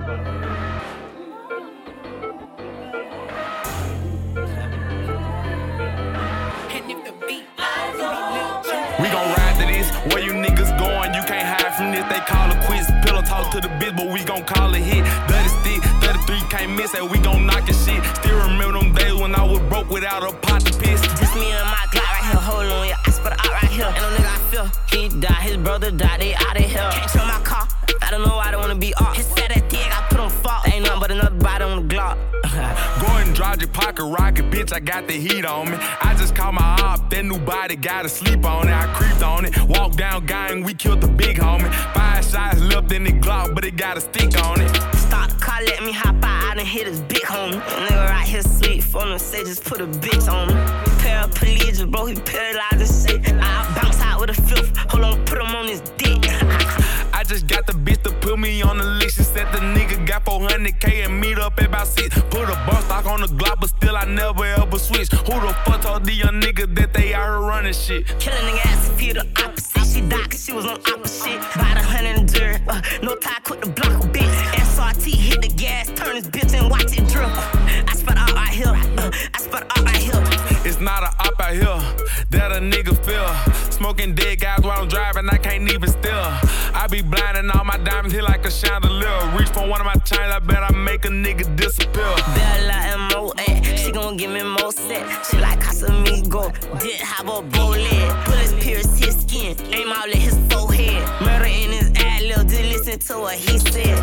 And if the beat we gon' ride to this. Where you niggas going? You can't hide from this. They call it quits. Pillow talk to the bitch, but we gon' call it hit. Dirty stick, thirty-three can't miss it. We gon' knock your shit. Still remember them days when I was broke without a pot to piss. This me and my Glock right here. Hold on, yeah. I spit it out right here. And no nigga I feel. He died, his brother died. They out of here. Can't show my car. I don't know why I don't wanna be off. His fat ass dick, I put on fault. ain't nothing but another body on the Glock. Go and drive your pocket rocket, bitch, I got the heat on me. I just called my op, that new body gotta sleep on it. I creeped on it, walked down gang, we killed the big homie. Five shots left in the Glock, but it got a stick on it. Start the car, let me hop out, I done hit his big homie. Nigga right here sleep, phone and say just put a bitch on me. Paraplegic, bro, he paralyzed and shit. I bounce out with a fifth, hold on, put him on his dick. I just got the bitch to put me on the list. She said the nigga got four hundred K and meet up at about six. Put a bump stock on the Glock, but still I never ever switch. Who the fuck told the young nigga that they out here running shit? Kill a nigga ass if you the opposite. She died cause she was on opposite. Bought a hundred and dirt, uh, no tie, quit the block a bitch. S R T hit the gas, turn this bitch and watch it drip. I spot out right here, uh, I spot out right here. It's not a op out here that a nigga feel. Smoking dead guys while I'm driving, I can't even steal. I be blinding all my diamonds hit like a chandelier. Reach for one of my chains, I bet I make a nigga disappear. Bella M O A, she gon' give me more set. She like Casamigo, did have a bullet. Bullets pierce his skin, aim out at his forehead. Murder in his ad lib, did listen to what he said.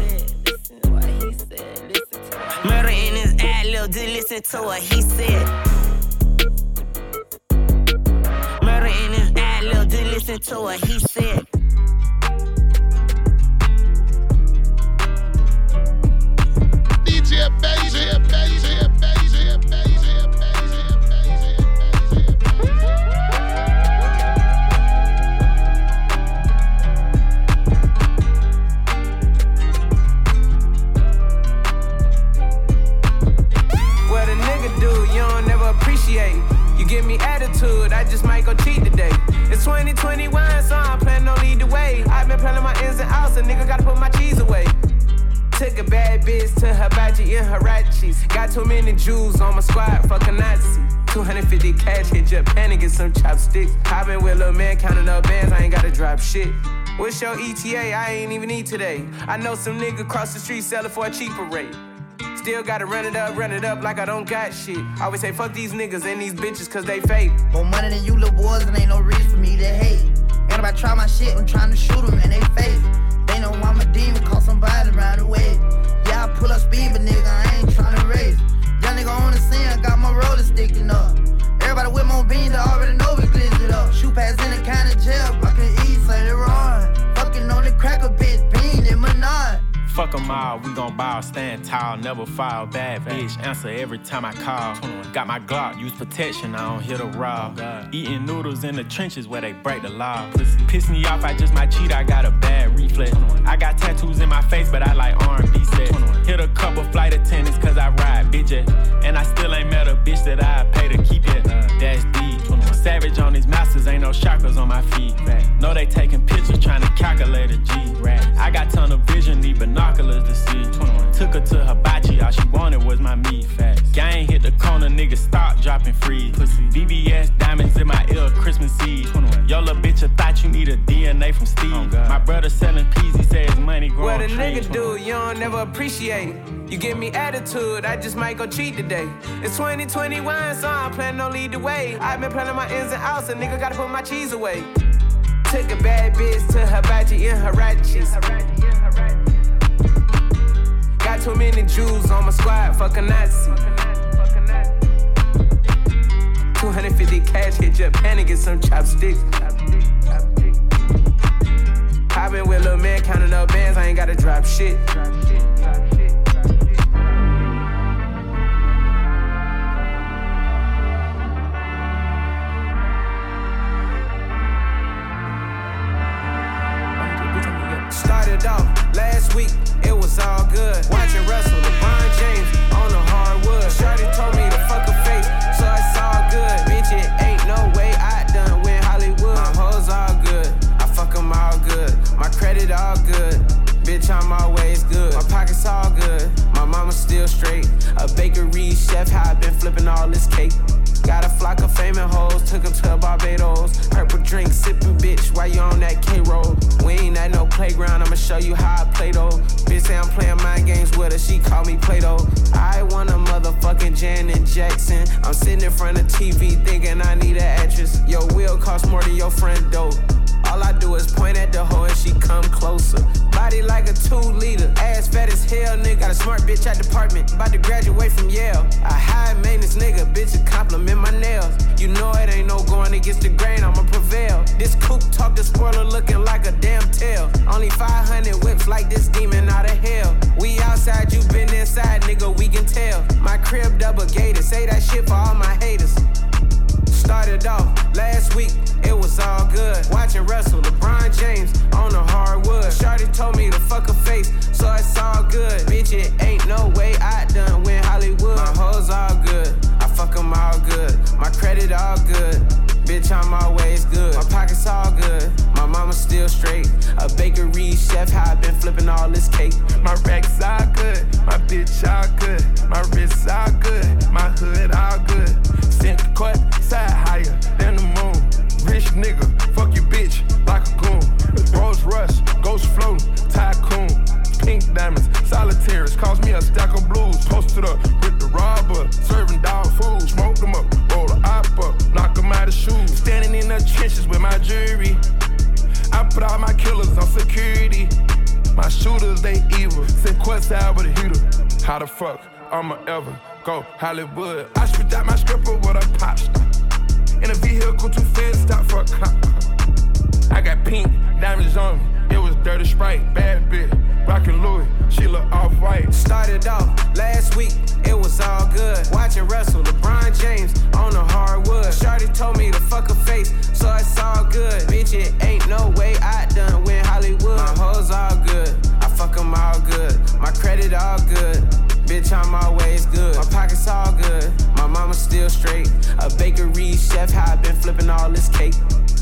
Murder in his ad lib, did listen to what he said. Murder in his ad lib, did listen to what he said. D J Bass, D J Bass, D J Bass, D J Bass, D J What a nigga do, you don't never appreciate. You give me attitude, I just might go cheat today. It's twenty twenty-one, so I'm planning on lead the way. I've been planning my ins and outs, a nigga gotta put my cheese away. Took a bad bitch to Hibachi in Hirachis. Got too many Jews on my squad, fuck a Nazi. two hundred fifty cash, hit Japan and get some chopsticks. I been with lil' man counting up bands, I ain't gotta drop shit. What's your E T A? I ain't even eat today. I know some nigga cross the street selling for a cheaper rate. Still gotta run it up, run it up like I don't got shit. I always say fuck these niggas and these bitches cause they fake. More money than you little boys and ain't no reason for me to hate. And if I try my shit, I'm trying to shoot them in they face. They know I'm a demon, call somebody around the way. Yeah, I pull up speed, but nigga, I ain't trying to race. Young nigga on the scene, I got my roller sticking up. Everybody with more beans, I already know we glitch it up. Shoot pass in the kind of jail, I can eat, say they run. Fucking on the cracker, bitch, bean in my nut. Fuck 'em all, we gon' ball, stand tall, never fall. Bad bitch, answer every time I call. Got my Glock, use protection, I don't hit a raw. Eating noodles in the trenches where they break the law. Piss me off, I just might cheat, I got a bad reflex. I got tattoos in my face, but I like R and B sets. Hit a couple flight attendants cause I ride bitch it. And I still ain't met a bitch that I pay to keep it. That's deep. Savage on these masters, ain't no chakras on my feet. Know they taking pictures, trying to calculate a G. I got ton of vision, need binoculars to see. Took her to Hibachi, all she wanted was my meat. Gang hit the corner, nigga stop dropping free. V V S diamonds in my ear, Christmas Eve. Yo, little bitch, I thought you need a D N A from Steve. Oh, my brother selling peas, he said his money growing. What a nigga do, you don't never appreciate. You give me attitude, I just might go cheat today. It's twenty twenty-one, so I'm planning on lead the way. I've been planning my ins and outs, a nigga gotta put my cheese away. Took a bad bitch to Hibachi in Hirachis. Got too many Jews on my squad, fuck a Nazi. two hundred fifty cash, hit Japan and get some chopsticks. I been with lil' man counting up bands, I ain't gotta drop shit. Started off last week, it was all good. Watching Russell, LeBron James on the hardwood. Shorty told me to fuck her face, so it's all good. Bitch, it ain't no way I done win Hollywood. My hoes all good, I fuck them all good. My credit all good, bitch, I'm always good. My pockets all good, my mama still straight. A bakery chef, how I been flipping all this cake. Got a flock of famous hoes, took them to Barbados. Purple drink, sipping bitch, while you on that K-roll. We ain't at no playground, I'ma show you how I play though. Bitch say I'm playing mind games with her, she call me Play-Doh. I want a motherfucking Janet Jackson. I'm sitting in front of T V thinking I need an actress. Your wheel costs more than your friend dope. All I do is point at the hoe and she come closer. Body like a two liter. Ass fat as hell, nigga. Got a smart bitch at department. About to graduate from Yale. A high maintenance nigga, bitch, a compliment my nails. You know it ain't no going against the grain, I'ma prevail. This coupe talk, the spoiler looking like a damn tail. Only five hundred whips like this demon out of hell. We outside, you been inside, nigga, we can tell. My crib double gated, say that shit for all my haters. Started off last week, it was all good. Watching Russell, LeBron James on the hardwood. Shawty told me to fuck her face, so it's all good. Bitch, it ain't no way I done win Hollywood. My hoes all good, I fuck them all good. My credit all good, bitch, I'm always good. My pockets all good, my mama still straight. A bakery chef, how I been flipping all this cake. My racks all good, my bitch all good. My wrists all good, my hood all good. Sent the court, side higher than the moon. Rich nigga, fuck your bitch like a goon. Rolls Rush, Ghost floating, tycoon. Pink diamonds, solitaires, cost me a stack of blues. Posted up with the robber, serving dog food. Smoke them up, roll the op up, knock them out of shoes. Standing in the trenches with my jury. I put all my killers on security. My shooters, they evil. Send quests out with a heater. How the fuck I'ma ever go Hollywood? I spit out my scripper with a pop star. In a vehicle too fast, stop for a cop. I got pink diamonds on me. It was dirty Sprite, bad bitch. Rockin' Louis, she look off-white. Started off last week, it was all good. Watching Russell, LeBron James on the hardwood. Shawty told me to fuck her face, so it's all good. Bitch, it ain't no way I done win Hollywood. My hoes all good, I fuck them all good. My credit all good, bitch, I'm always good. My pockets all good, my mama still straight. A bakery chef, how I been flipping all this cake.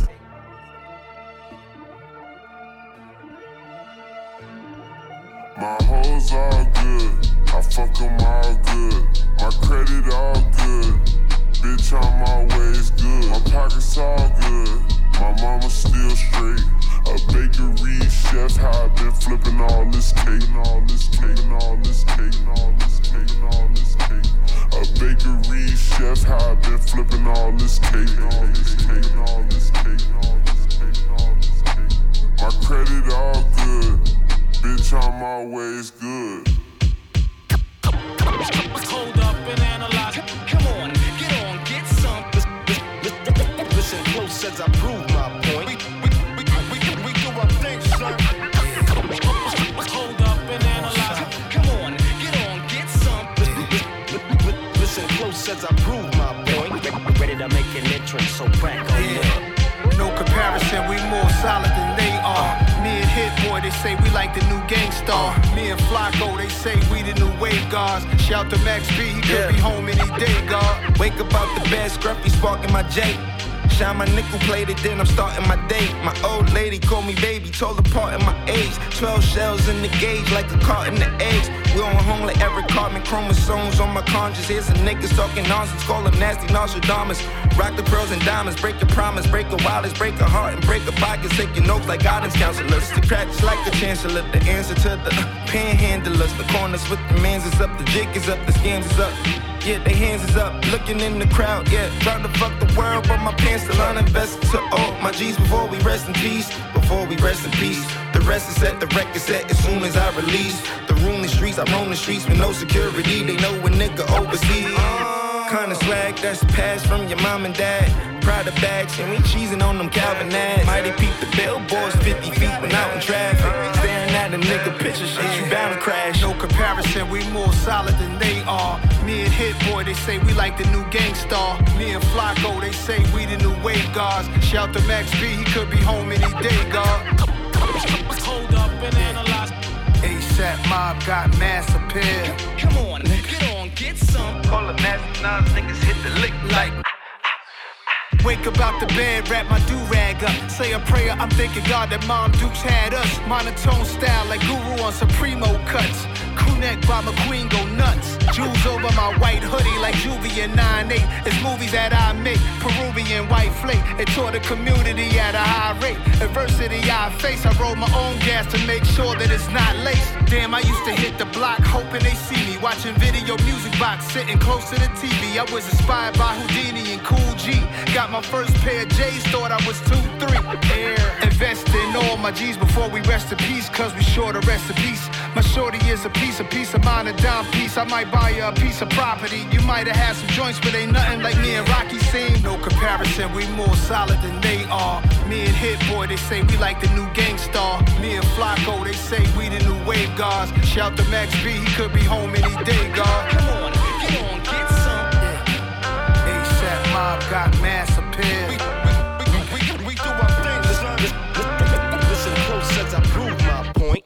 My hoes all good, I fuck them all good. My credit all good, bitch, I'm always good. My pockets all good, my mama still straight. A bakery chef, how I been flipping all this cake, and all this cake, and all this cake, and all this cake, and all this cake. A bakery chef, how I been flipping all this cake, and all this cake, and all this cake, and all this cake, and all this cake. My credit all good. Bitch, I'm always good. Hold up and analyze. Come on, get on, get some. Listen close as I prove my point. We, we, we, we, we do our thing, son. Hold up and analyze. Come on, get on, get some. Listen close as I prove my point. Ready to make an entrance, so crack on yeah. No comparison, we more solid than they are. Me and Hit Boy, they say we like the new Gangstar. Me and Flacco, they say we the new wave guards. Shout to Max B, he could yeah. be home any day, God. Wake up out the bed, scruffy sparking my J. Shine my nickel plated, then I'm starting my day. My old lady called me baby, told apart in my age. Twelve shells in the gauge, like a carton of eggs. We on home like Eric Cartman, chromosomes on my conscience. Here's some niggas talking nonsense, call them nasty Nostradamus. Rock the pearls and diamonds, break your promise, break a wildest, break a heart and break a pocket. Taking notes like guidance counselors. The cracks like the chancellor, the answer to the uh, panhandlers. The corners with the mans is up, the jig is up, the scams is up. Yeah, they hands is up, looking in the crowd, yeah. Trying to fuck the world, but my pants still uninvested to all my G's before we rest in peace. Before we rest in peace. The rest is set, the record set as soon as I release. The room, the streets, I roam the streets with no security. They know a nigga overseas. Kinda swag that's passed from your mom and dad. Prada bags, and we cheesing on them Calvin ads. Mighty peep the billboards, fifty feet when out in traffic. Staring at a nigga picture, shit, you bound to crash. No comparison, we more solid than they are. Me and Hit Boy, they say we like the new Gangstar. Me and Flacco, they say we the new wave guards. Shout to Max B, he could be home any day, God. Hold up and analyze. ASAP Mob got mass appeal. Come on, get on, get some. Call them nasty Nas, niggas hit the lick like. Wake up out the bed, wrap my do-rag up. Say a prayer, I'm thanking God that Mom Dukes had us. Monotone style like Guru on Supremo cuts. Crew neck by McQueen go nuts. Jewels over my white hoodie like Juvie and nine eight. It's movies that I make, Peruvian white flake. It taught the community at a high rate. Adversity I face, I roll my own gas to make sure that it's not laced. Damn, I used to hit the block hoping they see me. Watching video music box, sitting close to the T V. I was inspired by Houdini and Cool G. Got my first pair of J's, thought I was two three. Air, invest in all my my G's before we rest in peace, cause we sure to rest in peace. My shorty is a piece of peace of mind and down peace. I might buy you a piece of property. You might have had some joints, but ain't nothing like me and Rocky seen. No comparison, we more solid than they are. Me and Hit Boy, they say we like the new Gangstar. Me and Flacco, they say we the new wave guards. Shout to Max B, he could be home any day, God. Come on, get on, get some. ASAP Mob got mass appeal. We, we, we, we, we do our thing, son. Listen close as I prove my point.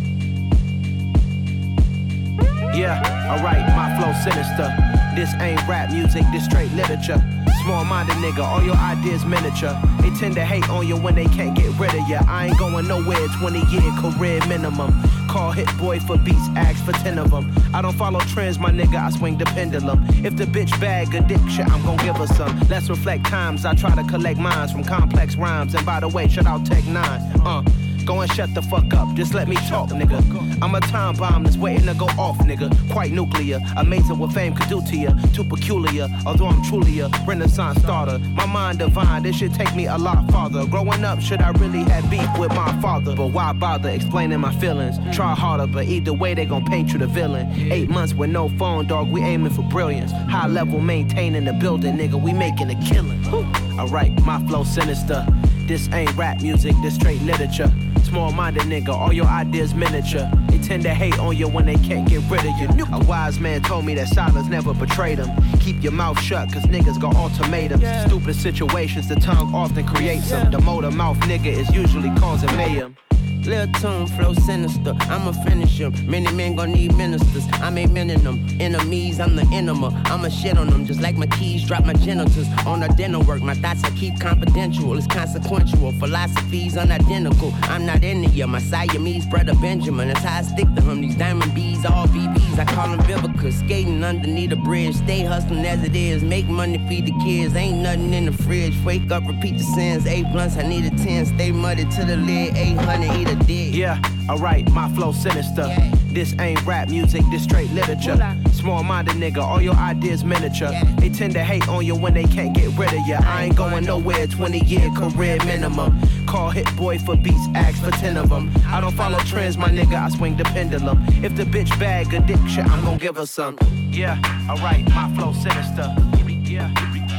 Yeah, alright, my flow sinister. This ain't rap music, this straight literature. Small-minded nigga, all your ideas miniature. They tend to hate on you when they can't get rid of ya. I ain't going nowhere, twenty-year career minimum. Call Hit Boy for beats, ask for ten of them. I don't follow trends, my nigga, I swing the pendulum. If the bitch bag a dick shit, I'm gon' give her some. Let's reflect times, I try to collect minds from complex rhymes. And by the way, shout out Tech Nine. Uh. Go and shut the fuck up, just let me talk, nigga. I'm a time bomb that's waiting to go off, nigga. Quite nuclear, amazing what fame could do to you. Too peculiar, although I'm truly a renaissance starter. My mind divine, this should take me a lot farther. Growing up, should I really have beef with my father? But why bother explaining my feelings? Try harder, but either way they gon' paint you the villain. Eight months with no phone, dog, we aiming for brilliance. High level maintaining the building, nigga, we making a killing. Alright, my flow sinister. This ain't rap music, this straight literature. Small-minded nigga, all your ideas miniature. They tend to hate on you when they can't get rid of you. A wise man told me that silence never betrayed them. Keep your mouth shut, cause niggas got ultimatums. Yeah. Stupid situations, the tongue often creates them. The motor mouth nigga is usually causing mayhem. Lil' tune, flow sinister, I'ma finish him. Many men gon' need ministers, I'm a men in them. Enemies, I'm the enema, I'ma shit on them. Just like my keys, drop my genitals. On the dinner work, my thoughts I keep confidential. It's consequential, philosophies unidentical. I'm not India, my Siamese brother Benjamin. That's how I stick to him, these diamond bees, all B Bs. I call them Vivica, skating underneath a bridge. Stay hustling as it is, make money, feed the kids. Ain't nothing in the fridge, wake up, repeat the sins. Eight blunts, I need a ten, stay muddy to the lid. Eight hundred, eat a dig. Yeah, alright, my flow sinister. Yeah. This ain't rap music, this straight literature. Small-minded nigga, all your ideas miniature. Yeah. They tend to hate on you when they can't get rid of ya. I ain't going nowhere, twenty-year career minimum. Call Hit Boy for beats, ask for ten of them. I don't follow trends, my nigga, I swing the pendulum. If the bitch bag a dick shit, I'm gon' give her some. Yeah, alright, my flow sinister. Yeah,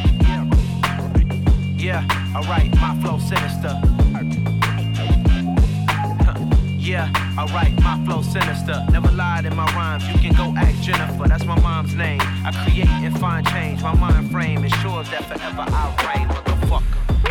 yeah, alright, my flow sinister. Yeah, alright, my flow sinister. Never lied in my rhymes, you can go ask Jennifer. That's my mom's name. I create and find change. My mind frame ensures that forever I'll reign. Motherfucker.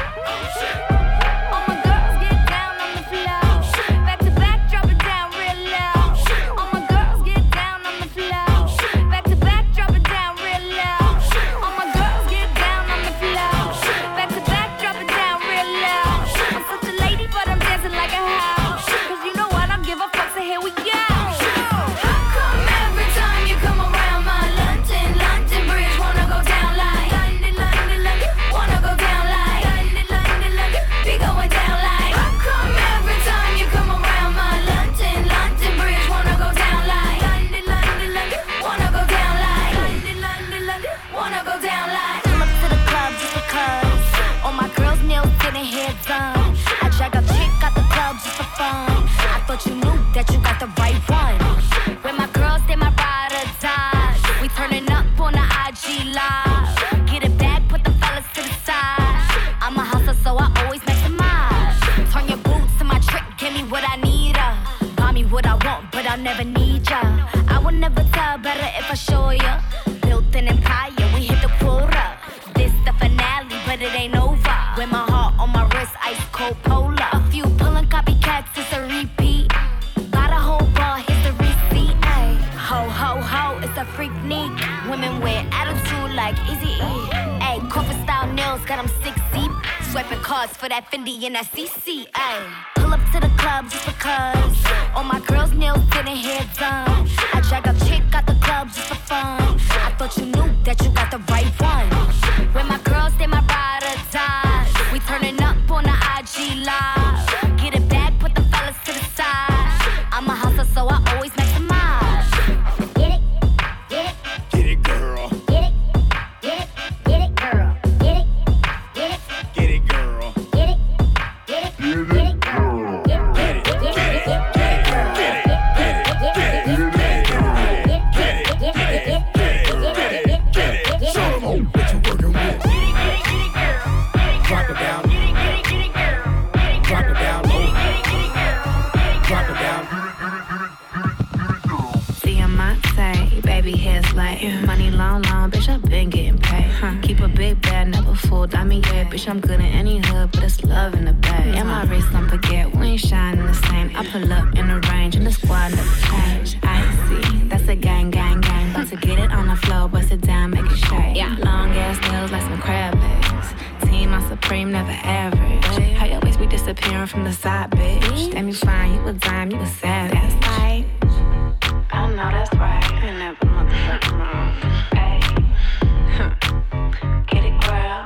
All my girls get down on the floor. Back to back, drop it down real low. All my girls get down on the floor. Back to back, drop it down real low. All my girls get down on the floor. Back to back, drop it down real low. I'm such a lady, but I'm dancing like a house. Give a fuck, so here we go. How come every time you come around my London, London Bridge wanna go down like London, London, London, wanna go down like London, London, London, be going down like. How come every time you come around my London, London Bridge wanna go down like London, London, London, wanna go down like London, London, London, wanna go down like. Pull up to the club just because all my girls' nails getting hair done. I drag a chick out the club just for fun. But you knew that you got the right one. When my girls, they my ride or die. We turning up on the I G live. Get it back, put the fellas to the side. I'm a hustler, so I always maximize. Turn your boots to my trick, give me what I need. Uh. Buy me what I want, but I'll never need ya. I will never tell better if I show ya. Built an empire, we hit the quota. This the finale, but it ain't over. With my heart on my wrist, ice cold polar. A few pulling copycats, it's a repeat. Ho, ho, ho, it's a freak neat. Women with attitude like Easy E. Ayy, corporate style nails got them six deep. Swiping cards for that Fendi and that C C. Ayy, pull up to the club just because all my girls' nails getting hair done. I drag a chick out the club just for fun. I thought you knew that you got the right one. When my girls, they my ride or die. We turning up on the I G live. Get it back, put the fellas to the side. I'm a hustler, so I always maximize. Get it, girl. Get it, big bad, never fooled. I mean, yeah, bitch, I'm good in any hood, but it's love in the bag. And my wrist, don't forget, we ain't shining the same. I pull up in the range, and the squad never change. I see, that's a gang, gang, gang. About to get it on the floor, bust it down, make it shake. Yeah, long ass nails like some crab legs. Team, I'm supreme, never average. How your waist be disappearing from the side, bitch? Damn, you fine, you a dime, you a savage. That's right. I know that's right. I ain't never motherfucking wrong. Hey, huh. Get it, girl.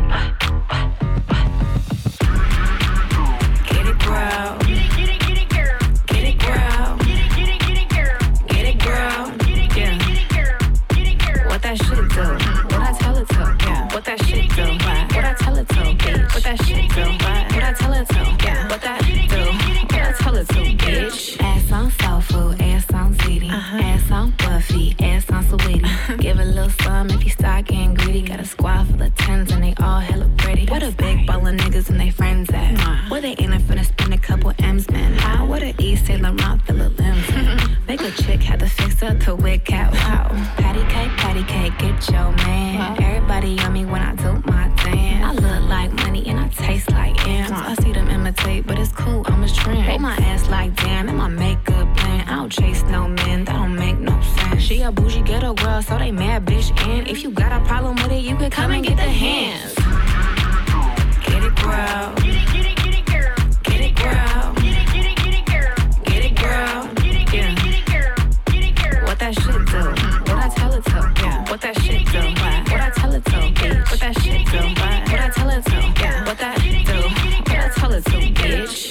Get it, girl. Get it, get it, get it, girl. Get it, girl. Get it, get it, get it, girl. Get it, girl. Get it, get it, get it, girl. Get it, girl. What that shit do? What I tell it to? Yeah. What that shit do? What I tell it to? Bitch. What that shit do? What I tell it to? Yeah. What that do? What I tell it to? Bitch. Ass on soul food. Ass on ziti. Uh-huh. Ass on Buffy. Ass on sweetie. Uh-huh. Give a little some if you start getting greedy. Got a squad full of tens and they all hella pretty. What a big ball of niggas and they friends at? Uh-huh. Where they in it finna spend a couple M's, man? How? What a East Saint Laurent fill of limbs. Make a chick had to fix her to wig cat. Wow. Patty cake, patty cake, get your man. Wow. Everybody on me when I do my dance. I look like money and I taste like M's. I see them imitate, but it's cool, I'm a trend. Hold my ass like damn, and my makeup plan. I don't chase no men, that don't make no sense. She a bougie ghetto girl, so they mad bitch. And if you got a problem with it, you can come and get the hands. Get it, girl. Get it, get it, get it, girl. Get it, girl. Get it, get it, get it, girl. Get it, girl. Get it, get it, get it, girl. Get it, girl. What that shit do? What I tell it to? Yeah. What that shit do? What I tell it to? Bitch. What that shit do? What I tell it to? Yeah. What that do? What I tell it to? Bitch.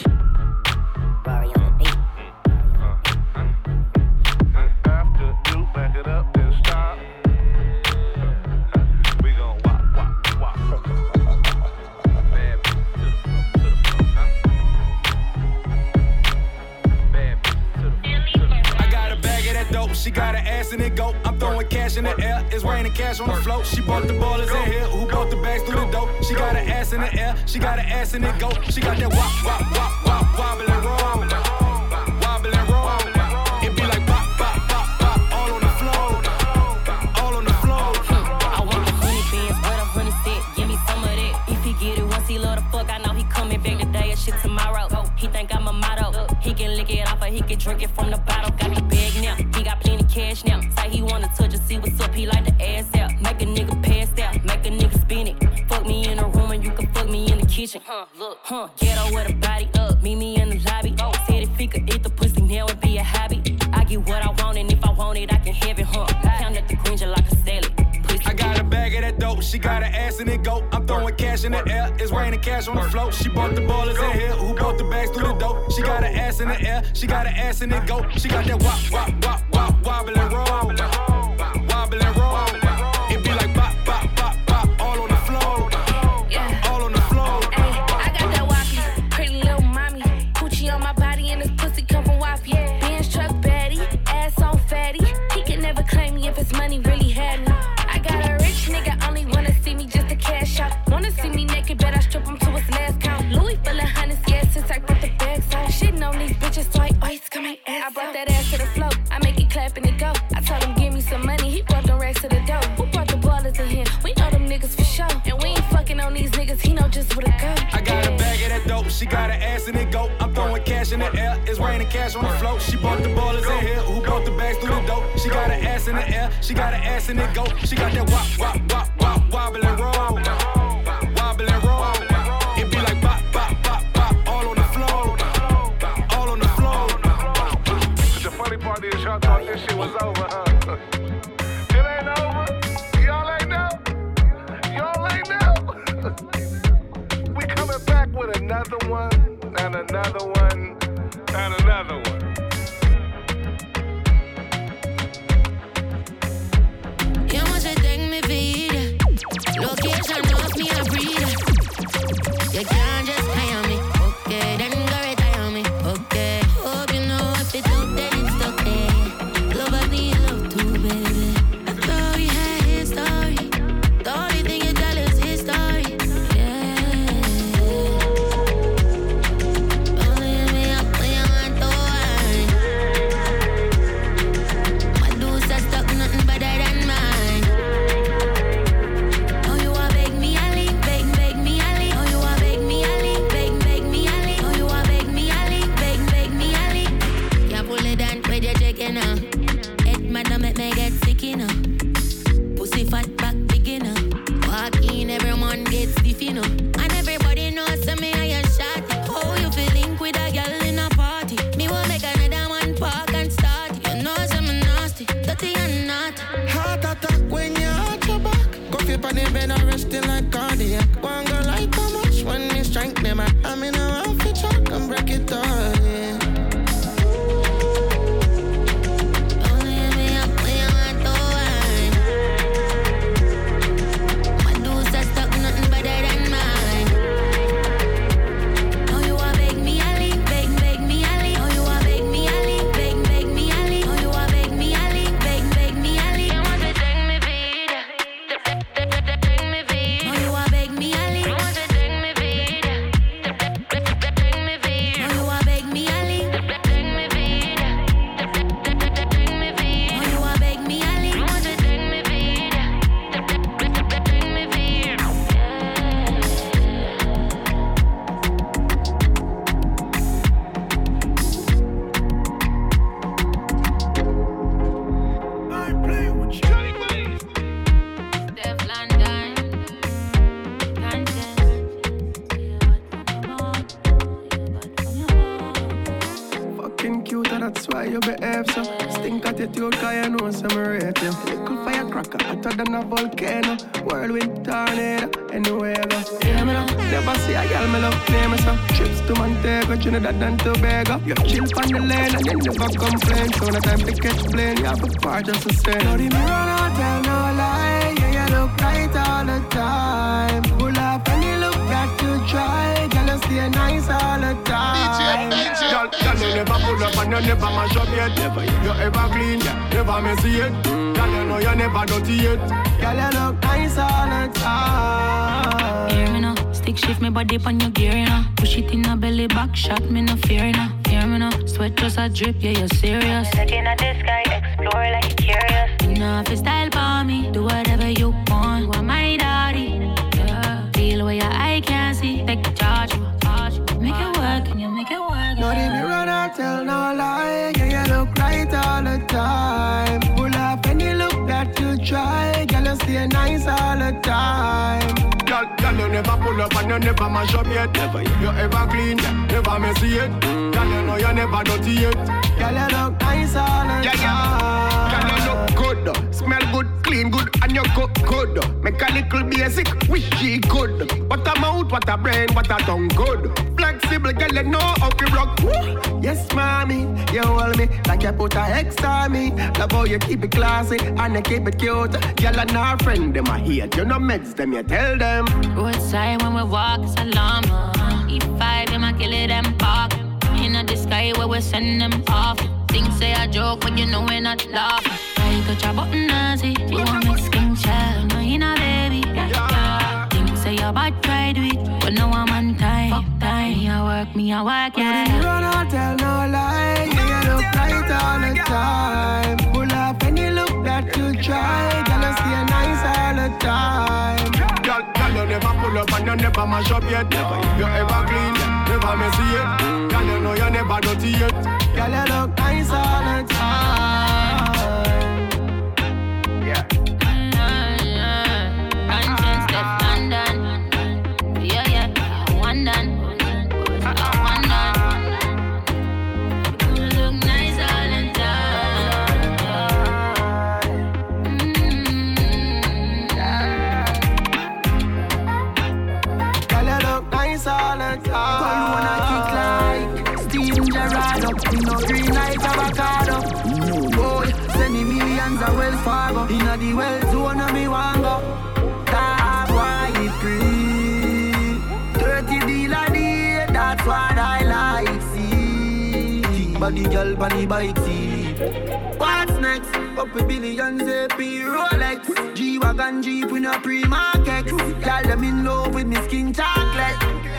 She got her ass in it go. I'm throwing cash in the air. It's raining cash on the float. She bought the ballers in here. Who bought the bags through the dope? She got her ass in the air. She got her ass in it go. She got that wop, wop, wop, wop, wobble and roll. Wobble and roll. It be like bop, bop, bop, bop. All on the floor. All on the floor. I want the honey beans, where the honey sit. Give me some of that. If he get it once, he love the fuck. I know he coming back today and shit tomorrow. He think I'm a motto. He can lick it off or he can drink it from the bottle. Got the bag now. He got plenty cash now. Say he wanna touch and see what's up. He like the ass out. Make a nigga pass out. Make a nigga spin it. Fuck me in a room and you can fuck me in the kitchen. Huh, look, huh. Ghetto with a body up. Meet me in the lobby. Oh, said if he could eat the pussy now it'd be a hobby. I get what I want and if I want it I can have it, huh. Count at the green just like a salad. I got a bag of that dope. She got her ass in it go. I'm throwing cash in the air. It's raining cash on the float. She bought the ballers in here. Who bought the bags through the dope? She got her ass in the air. She got her ass in it go. She got that wop, wop, wop, wop, wobble and roll. Wobble and roll. It be like bop, bop, bop, bop. All on the floor. All on the floor. Ay, I got that wappy, pretty little mommy. Coochie on my body and this pussy come from wappy. Benz truck baddie, ass on fatty. He can never claim me if his money really had me. I got a rich nigga, only wanna see me just to cash out. Wanna see me naked, bet I strip him to his last count. Louis full of hundreds, yeah, since I put the bags on. Shitting on these bitches, so I ice come my ass. I brought that ass to the floor, I make it clap and it go. I told him give me some money, he brought them racks to the door. Who brought the ballers in here? We know them niggas for sure. And we ain't fucking on these niggas, he know just where to go. I got a bag of that dope, she got her ass in it go. I'm throwing cash in the air, it's raining cash on the float. She bought the ballers in here, who bought the bags through the dope? She got her ass in the air, she got her ass in it go. She got that wop, wop, wop, wop, wobble and roll. Wobble and roll. It be like bop, bop, bop, bop. All on the floor. All on the floor. The funny part is y'all thought this shit was over, huh? It ain't over. Y'all ain't know. Y'all ain't know. We coming back with another one, and another one, and another one. Jag måste tänka mig vid location of me a breathe. You can't just hire me, okay? Then go retire me, okay? Hope you know if it's out then it's okay. Love I need love too, baby. I thought we had his story. The only thing you tell is his story. Yeah. Only me up when you want to wine. so that's why you behave so. Stink attitude, cause you know some rate you. Little firecracker, hotter than a volcano. Whirlwind tornado, anywhere I go. Hear me now, never see a girl me love play me so. Trips to Montego, Trinidad and Tobago. You chill on the lane and you never complain. So no time to catch plane, you have a part just to say. Now the mirror don't tell no lie, yeah, you look right all the time. Pull up and you look back to try. Girl, you stay nice all the time. Girl, girl, you never pull up and you never mash up yet. Never, you ever clean, yeah, never messy yet. Girl, you know you never dirty yet. Girl, you look nice all the time. Hear me now, stick shift me body on your gear, you know. Push it in a belly back shot, me no fear, you know. Hear me now, sweat just a drip, yeah, you're serious. Looking at the sky, explore like you're curious. You know if you style for me, do whatever you want. You are my daddy, yeah. Feel where your eye can't see, take charge. Make it work, and you make it work. No, the mirror don't tell no lie. Yeah, you look right all the time. Pull up and you look that you try. Girl, you stay nice all the time. Girl, girl, you never pull up and you never mash up yet. Never, you ever clean, never messy yet. Girl, you know you never dirty yet. Girl, you look nice all the yeah, time. Yeah. Girl, you look good, smell good, clean good, and you cook good. Make a little basic, wish she good. What a mouth, what a brain, what a tongue good. Flexible, girl, you know how to rock. Woo. Yes, mommy, you hold me like you put a X on me. Love how you keep it classy and you keep it cute. Girl and her friend, them a hate. You know meds them, you tell them. Roadside when we walk, it's alarm. E five, them a kill it, them park. In the sky where we send them off. Things say a joke when you know we're not laughing. I touch a button and see you want me skin child. No, you not baby. Yeah, yeah. Things say your bad try do it, but no I'm on time. Fuck time. Me a work, me a work, yeah. You don't tell no lie. Yeah, you look right all the time. Pull up and you look that you try. Girl, you stay nice all the time. Girl, girl, you never pull up and you never mash up yet. Never, you ever clean, never messy yet. Girl, you know you never dirty yet. Girl, you look nice all the time. Yeah. Conscience left London. Yeah, yeah. One done. One done. You look nice all the time. Girl, you look nice all the time. Call wanna kick like Steven Gerrard up. We no green like avocado. No boy, send me millions of Wells Fargo. Inna the well zone of me want go. That's why it free. Thirty deal a day, that's what I like see. Body girl on the bike see. What's next? Up with billions A P Rolex. G-Wagon Jeep with no pre-market. Girl them in love with me skin chocolate.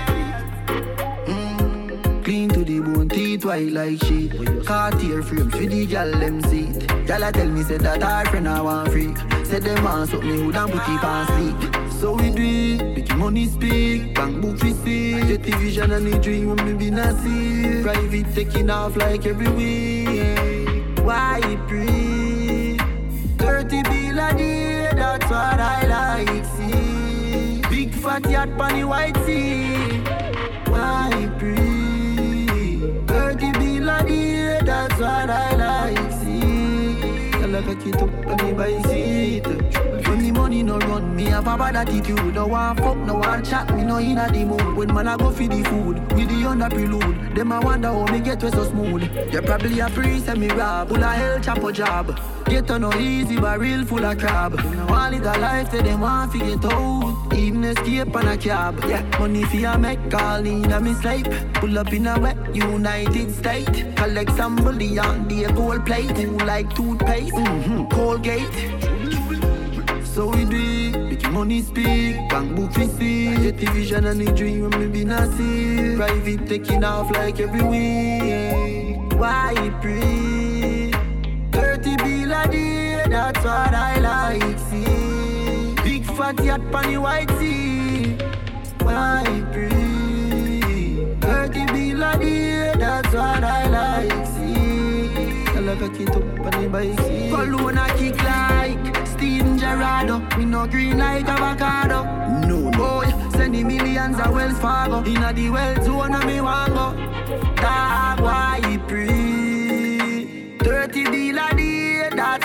Clean to the bone, teeth white like shit. Cartier frames for the gal them seat. Gal a tell me say that her friend I want freak. Say them want something me would and put it on sleep. So we do it, make money speak. Bank book we see. Jetty vision and the dream when me be see. Private taking off like every week. Why it breathe? Thirty bill a day, that's what I like see. Big fat yacht on the white sea. Why it breathe? Thirty bill a day, that's what I like see. I like a kid up on the bicycle. When the money no run, me have a bad attitude. No one fuck, no one chat, me no inna the mood. When man I go for the food, with the under prelude. Them I wonder how me get way so smooth. You probably a priest and me rob, full of hell chop a job. Get on no easy, but real full of crab. One little life, say them want to get out. Even escape on a cab. Yeah, money for a make call in a me sleep. Pull up in a wet United States. Collect some bullion, the gold plate. Who like toothpaste, mm-hmm. Colgate. So we do it, make money speak. Bank book we see. Jetty vision and the dream when me be not see. Private taking off like every week. Why it breathe? Thirty bill a day, that's what I like see. Big fat yacht on the white sea. Why it breathe? Thirty bill a day, that's what I like see. I like a kid up on the bike. Cologne a kick like Steven Gerrard. Me no green like avocado. No boy, send the millions of Wells Fargo. Inna the well zone of me want go. Dog, why it breathe?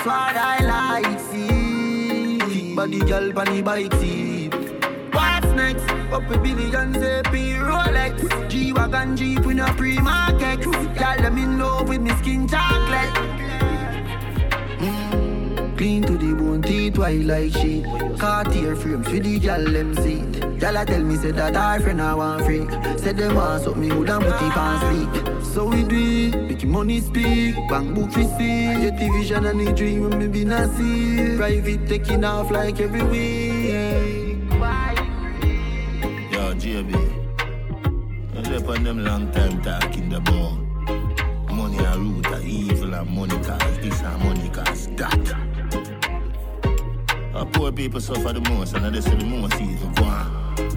That's what I like, see. Thick body girl on the bike seat. What's next? Up with billions, A P, Rolex. G-Wagon Jeep in a pre-market. Girl, them in love with me skin chocolate. Mm. Clean to the bone, teeth white like shit. Cartier frames for the girl, them seat. Girl, I tell me, say that our friend I want freak. Said them want something me would and put it on sleep. So we do it, make money speak. Bank book we see. Get the vision and the dream when me be not see. Private taking off like every week. Yo, J B, I slept on them long time talking about money a root of evil and money cause this and money cause that. Our poor people suffer the most and they say the most evil go on.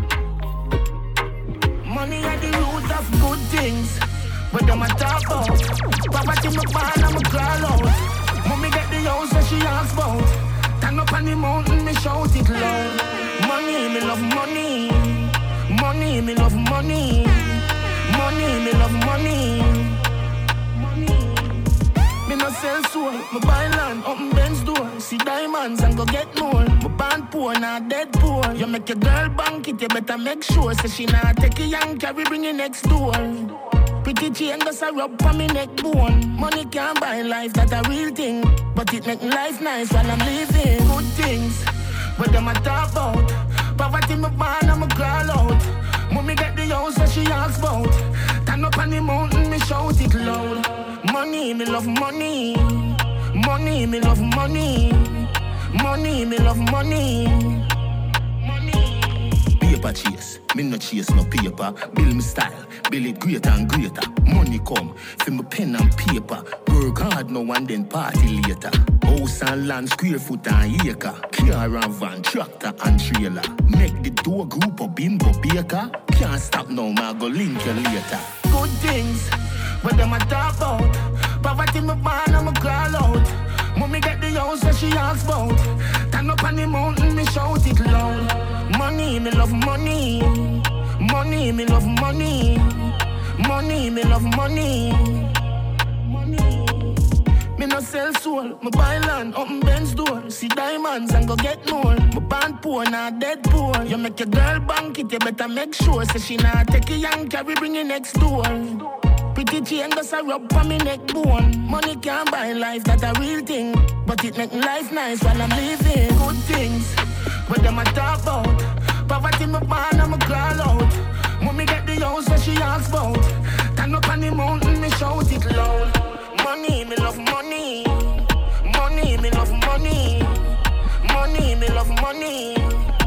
Money are the root of good things, but them a talk about. Poverty me born and me crawl out. Mommy get the house that she asks about. Stand up on the mountain, me shout it loud. Money, me love money. Money, me love money. Money, me love money. Money. Me no sell soul, me buy land, open Benz door. See diamonds and go get more. Me born poor, not dead poor. You make your girl bank it, you better make sure. Say she not take a young carry, bring it next door. Pretty chain does a rub on me neck bone. Money can't buy life, that a real thing. But it make life nice while I'm living. Good things, but them a talk about. Poverty me born and me crawl out. Mommy get the house that she asks about. Stand up on the mountain, me shout it loud. Money, me love money. Money, me love money. Money, me love money. Paper chase, me no chase no paper. Build me style, build it greater and greater. Money come, for me pen and paper. Work hard now and then party later. House and land, square foot and acre. Car and van, tractor and trailer. Make the door group of bimbo baker. Can't stop now, man, go link you later. Good things, but them a talk about. Poverty me born and me crawl out. Mommy get the house that she asks about. Stand up on the mountain, me shout it loud. Money, me love money. Money, me love money. Money, me love money. Money. Me no sell soul, me buy land, open Benz door. See diamonds and go get more. Me born poor, not dead poor. You make your girl bank it, you better make sure. Say she not take a young carry, bring it next door. Pretty chain does a rub on me neck bone. Money can't buy life, that a real thing. But it make life nice while I'm living. Good things, but them a talk about. Poverty me born and me crawl out. Mommy get the house that she asks about. Stand up on the mountain, me shout it loud. Money, me love money. Money, me love money. Money, me love money.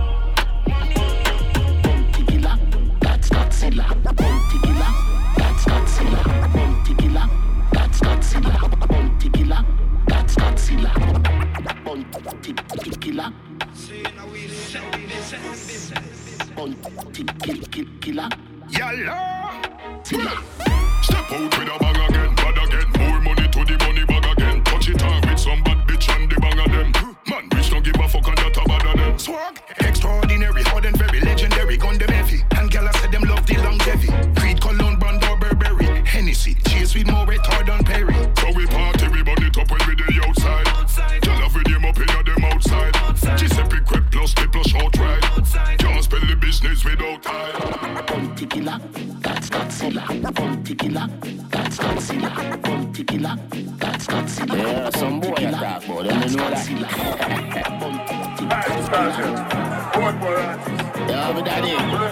Bounty killer, that's Godzilla. Bounty killer, that's Godzilla. Bounty killer, that's Godzilla. Bounty killer, that's Godzilla. Bounty killer. Bounty killer. Yalla. Step out with a bang again, bad again. More money to the money bag again. Touch it on with some bad bitch and the bang of them. Man, bitch don't give a fuck and that a bad of them. Swag, extraordinary, hard and very legendary. Gun them heavy, and gala said them love the longevity. Creed, Cologne, Brand or Burberry. Hennessy, chase with more retard than Perry. So we party, we burn it up when we the outside. outside. Gala with them up in them outside. outside. Giuseppe Crep plus the plus short ride. Can't spell the business without time. Bounty killer, that's Godzilla. Bounty killer, that's Godzilla. Bounty killer, that's Godzilla. Yeah, some boy attack, but them know that. Yeah, my daddy.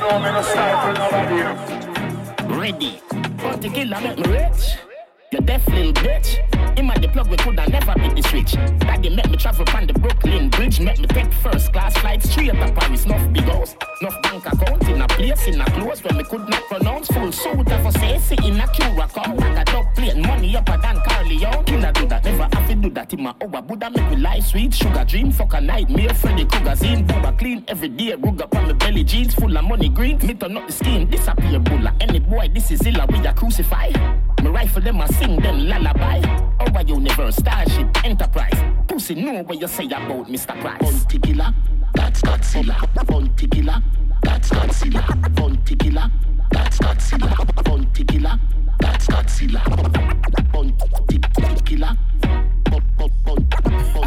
Ready. Bounty killer make me rich. You deaf little bitch. Him and the plug we coulda never beat the switch. Daddy make me travel on the Brooklyn Bridge. Make me take first class flight straight to Paris. Nuff big house, nuff bank account in a place in a close where me could not pronounce. Full suit of a say in a Curacao. Like a dog plane, money upper than Carleon. Killer do that, never have to do that in my over. Buddha make me life sweet, sugar dream, fuck a nightmare. Freddy Krueger zine, booba clean every day. Rug up on my belly jeans, full of money green. Me turn up the skin, disappear bulla. Any boy, this is illa, we a crucify. Me rifle them, I sing them lullaby. Over universe, starship, enterprise. Pussy know what you say about Mister Price. Bounty killer, that's Godzilla. Bounty killer, that's Godzilla. Bounty killer, that's Godzilla. Bounty killer, that's Godzilla. Bounty killer.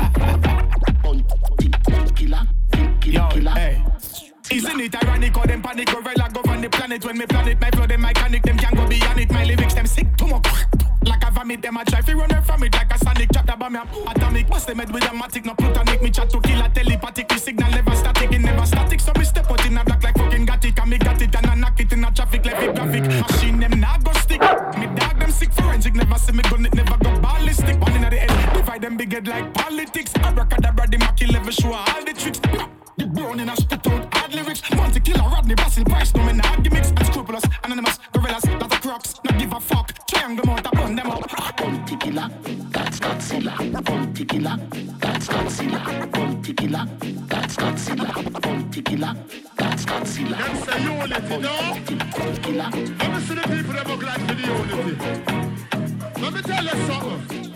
on it when me plan it. My flow them iconic, them can't go beyond it. My lyrics them sick too much. Like a vomit, them a try fi run from it like a sonic. Chapter bomb me atomic. Bust them head with a matic, no plutonic. Me chat to kill a telepathic. The signal never static, it never static. So me step out in a black like fucking got it. And me got it and I knock it in a traffic like a graphic. Machine them nah go stick. Me dog them sick forensic. Never see me gun it, never go ballistic. One in the head, divide them big head like politics. Abracadabra, the Mackie level show all the tricks. The brown in a spit out hard lyrics. Monte Killer, Rodney, Basil, Price, no me nah gimmicks. Unscrupulous, anonymous, gorillas, lot of crocs. Not give a fuck. Triangle mount, I burn them up. Monte Killer, that's Godzilla. Monte Killer, that's Godzilla. Monte Killer, that's Godzilla. Monte Killer, that's Godzilla. Them say unity, no? Let me see the people that look like for the unity. Let me tell you something.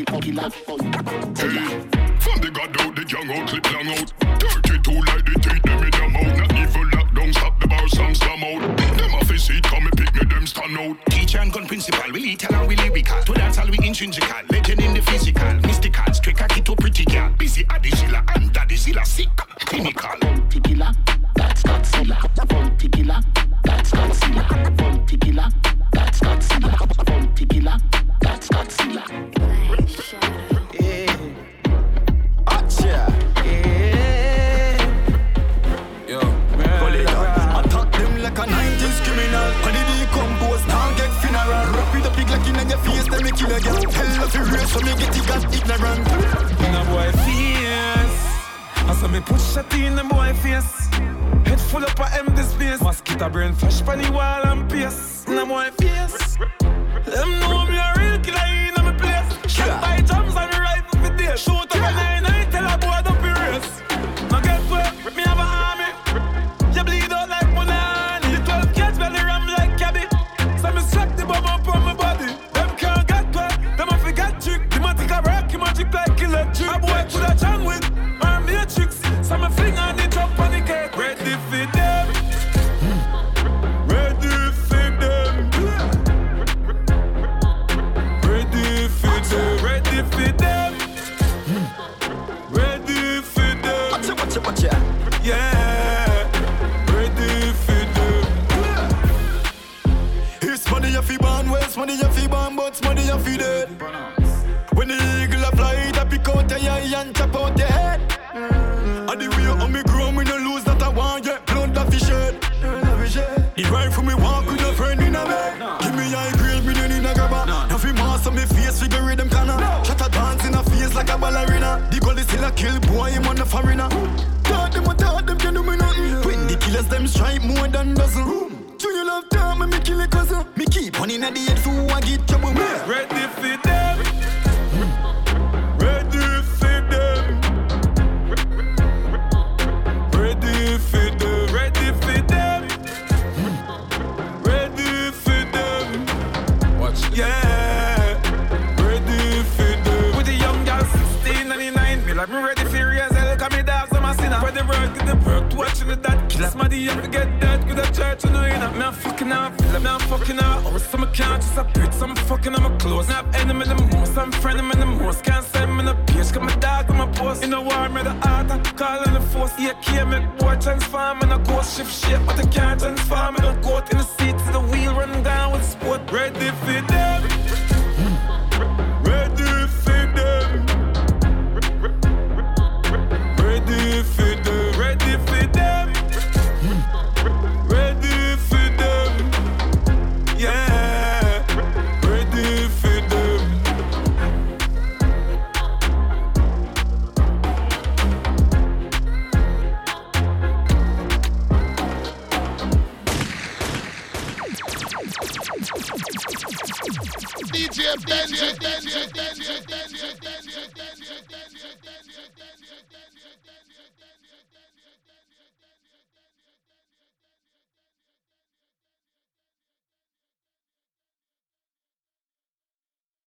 Hey, from the god out, the young out, clip long out. thirty-two like the teeth, them in the mouth. Not even lockdown, stop the bar, some slam out. Them off his seat, come and pick me, them stand out. Teacher and gun principal, we lethal and we lyrical. To dance all we intrinsical, legend in the physical. Mystical, straight cocky to pretty girl. Busy Adizilla and Daddyzilla, sick, clinical. Monte Killer, that's Godzilla. Monte Killer, that's Godzilla. Monte Killer, that's Godzilla. Monte Killer, that's Godzilla. Yeah. Acha. Yeah. Yo, pull it up. Attack them like a nineties criminal. When they decompose, now get funeral. Rap with a pig like in your face, then me kill a girl. Hell of a race, so me get it got ignorant. In a boy face, I saw me push shot in the boy face. Head full up of empty space. Mosquito brain flash pan the wall and pace. In a boy face, them know me a real killer in my place. Shot by drums and rifle for days. Shoot up a nine nine, tell a boy don't be race. Now get where me have a army. You bleed out like Monani. The twelve kids belly ram like cabby. So me slap the bomb up on my body. Them can't get where, them a forget trick. The magic a rock, the magic like electric. A boy could a John with or matrix. So me fling on the top on the cake. Ready for them. Ready for them. Ready for them. Ready for them. Ready for them. Watch it, watch it, watch it. Yeah. Ready for them. Here's money you fi born, where's money you fi born, but money you fi dead. When the eagle a fly, that pick out your eye and chop out your head. And the way on me grow, me no lose that I want, yeah. Blood that fi shed. The rifle me walk with a friend in a bed. Give me high grade, me no need a grabber. Now fi master me face, figure them canna. Shut a dance in a face like a ballerina. The goal is still a kill, boy, him on the foreigner. Thought them, I thought them can do me nothing. When the killers them strike more than dozen. Junior love time, me me kill a cousin. Me keep on in the head for who I get trouble me. Ready for them. Ready for them. Ready for them. Ready for them. Ready for them. Watch this. Yeah. Ready for them. With the young girl sixteen ninety-nine. Me like me ready for real. Cause me dogs on my sinner. For the work, get the work, watching the dad. Kill somebody, you forget that. Good at church, you know, you know. Me I'm fucking out, feel like me I'm fucking out. Or some can't just a bit, some fucking on my clothes. Now I'm enemy in the most, I'm friend in the most. Can't send me in the page, cause my dog on my post. In the war, me the art, I call in the force. Yeah, can't make boy transform in a ghost shift shape. But I can't transform in a goat in the seat to the wheel, running down with sport. Ready for them. Ready for them. Ready for them, ready for them, ready for them, yeah, ready for them. D J Benji, Benji, Benji, Benji, Benji.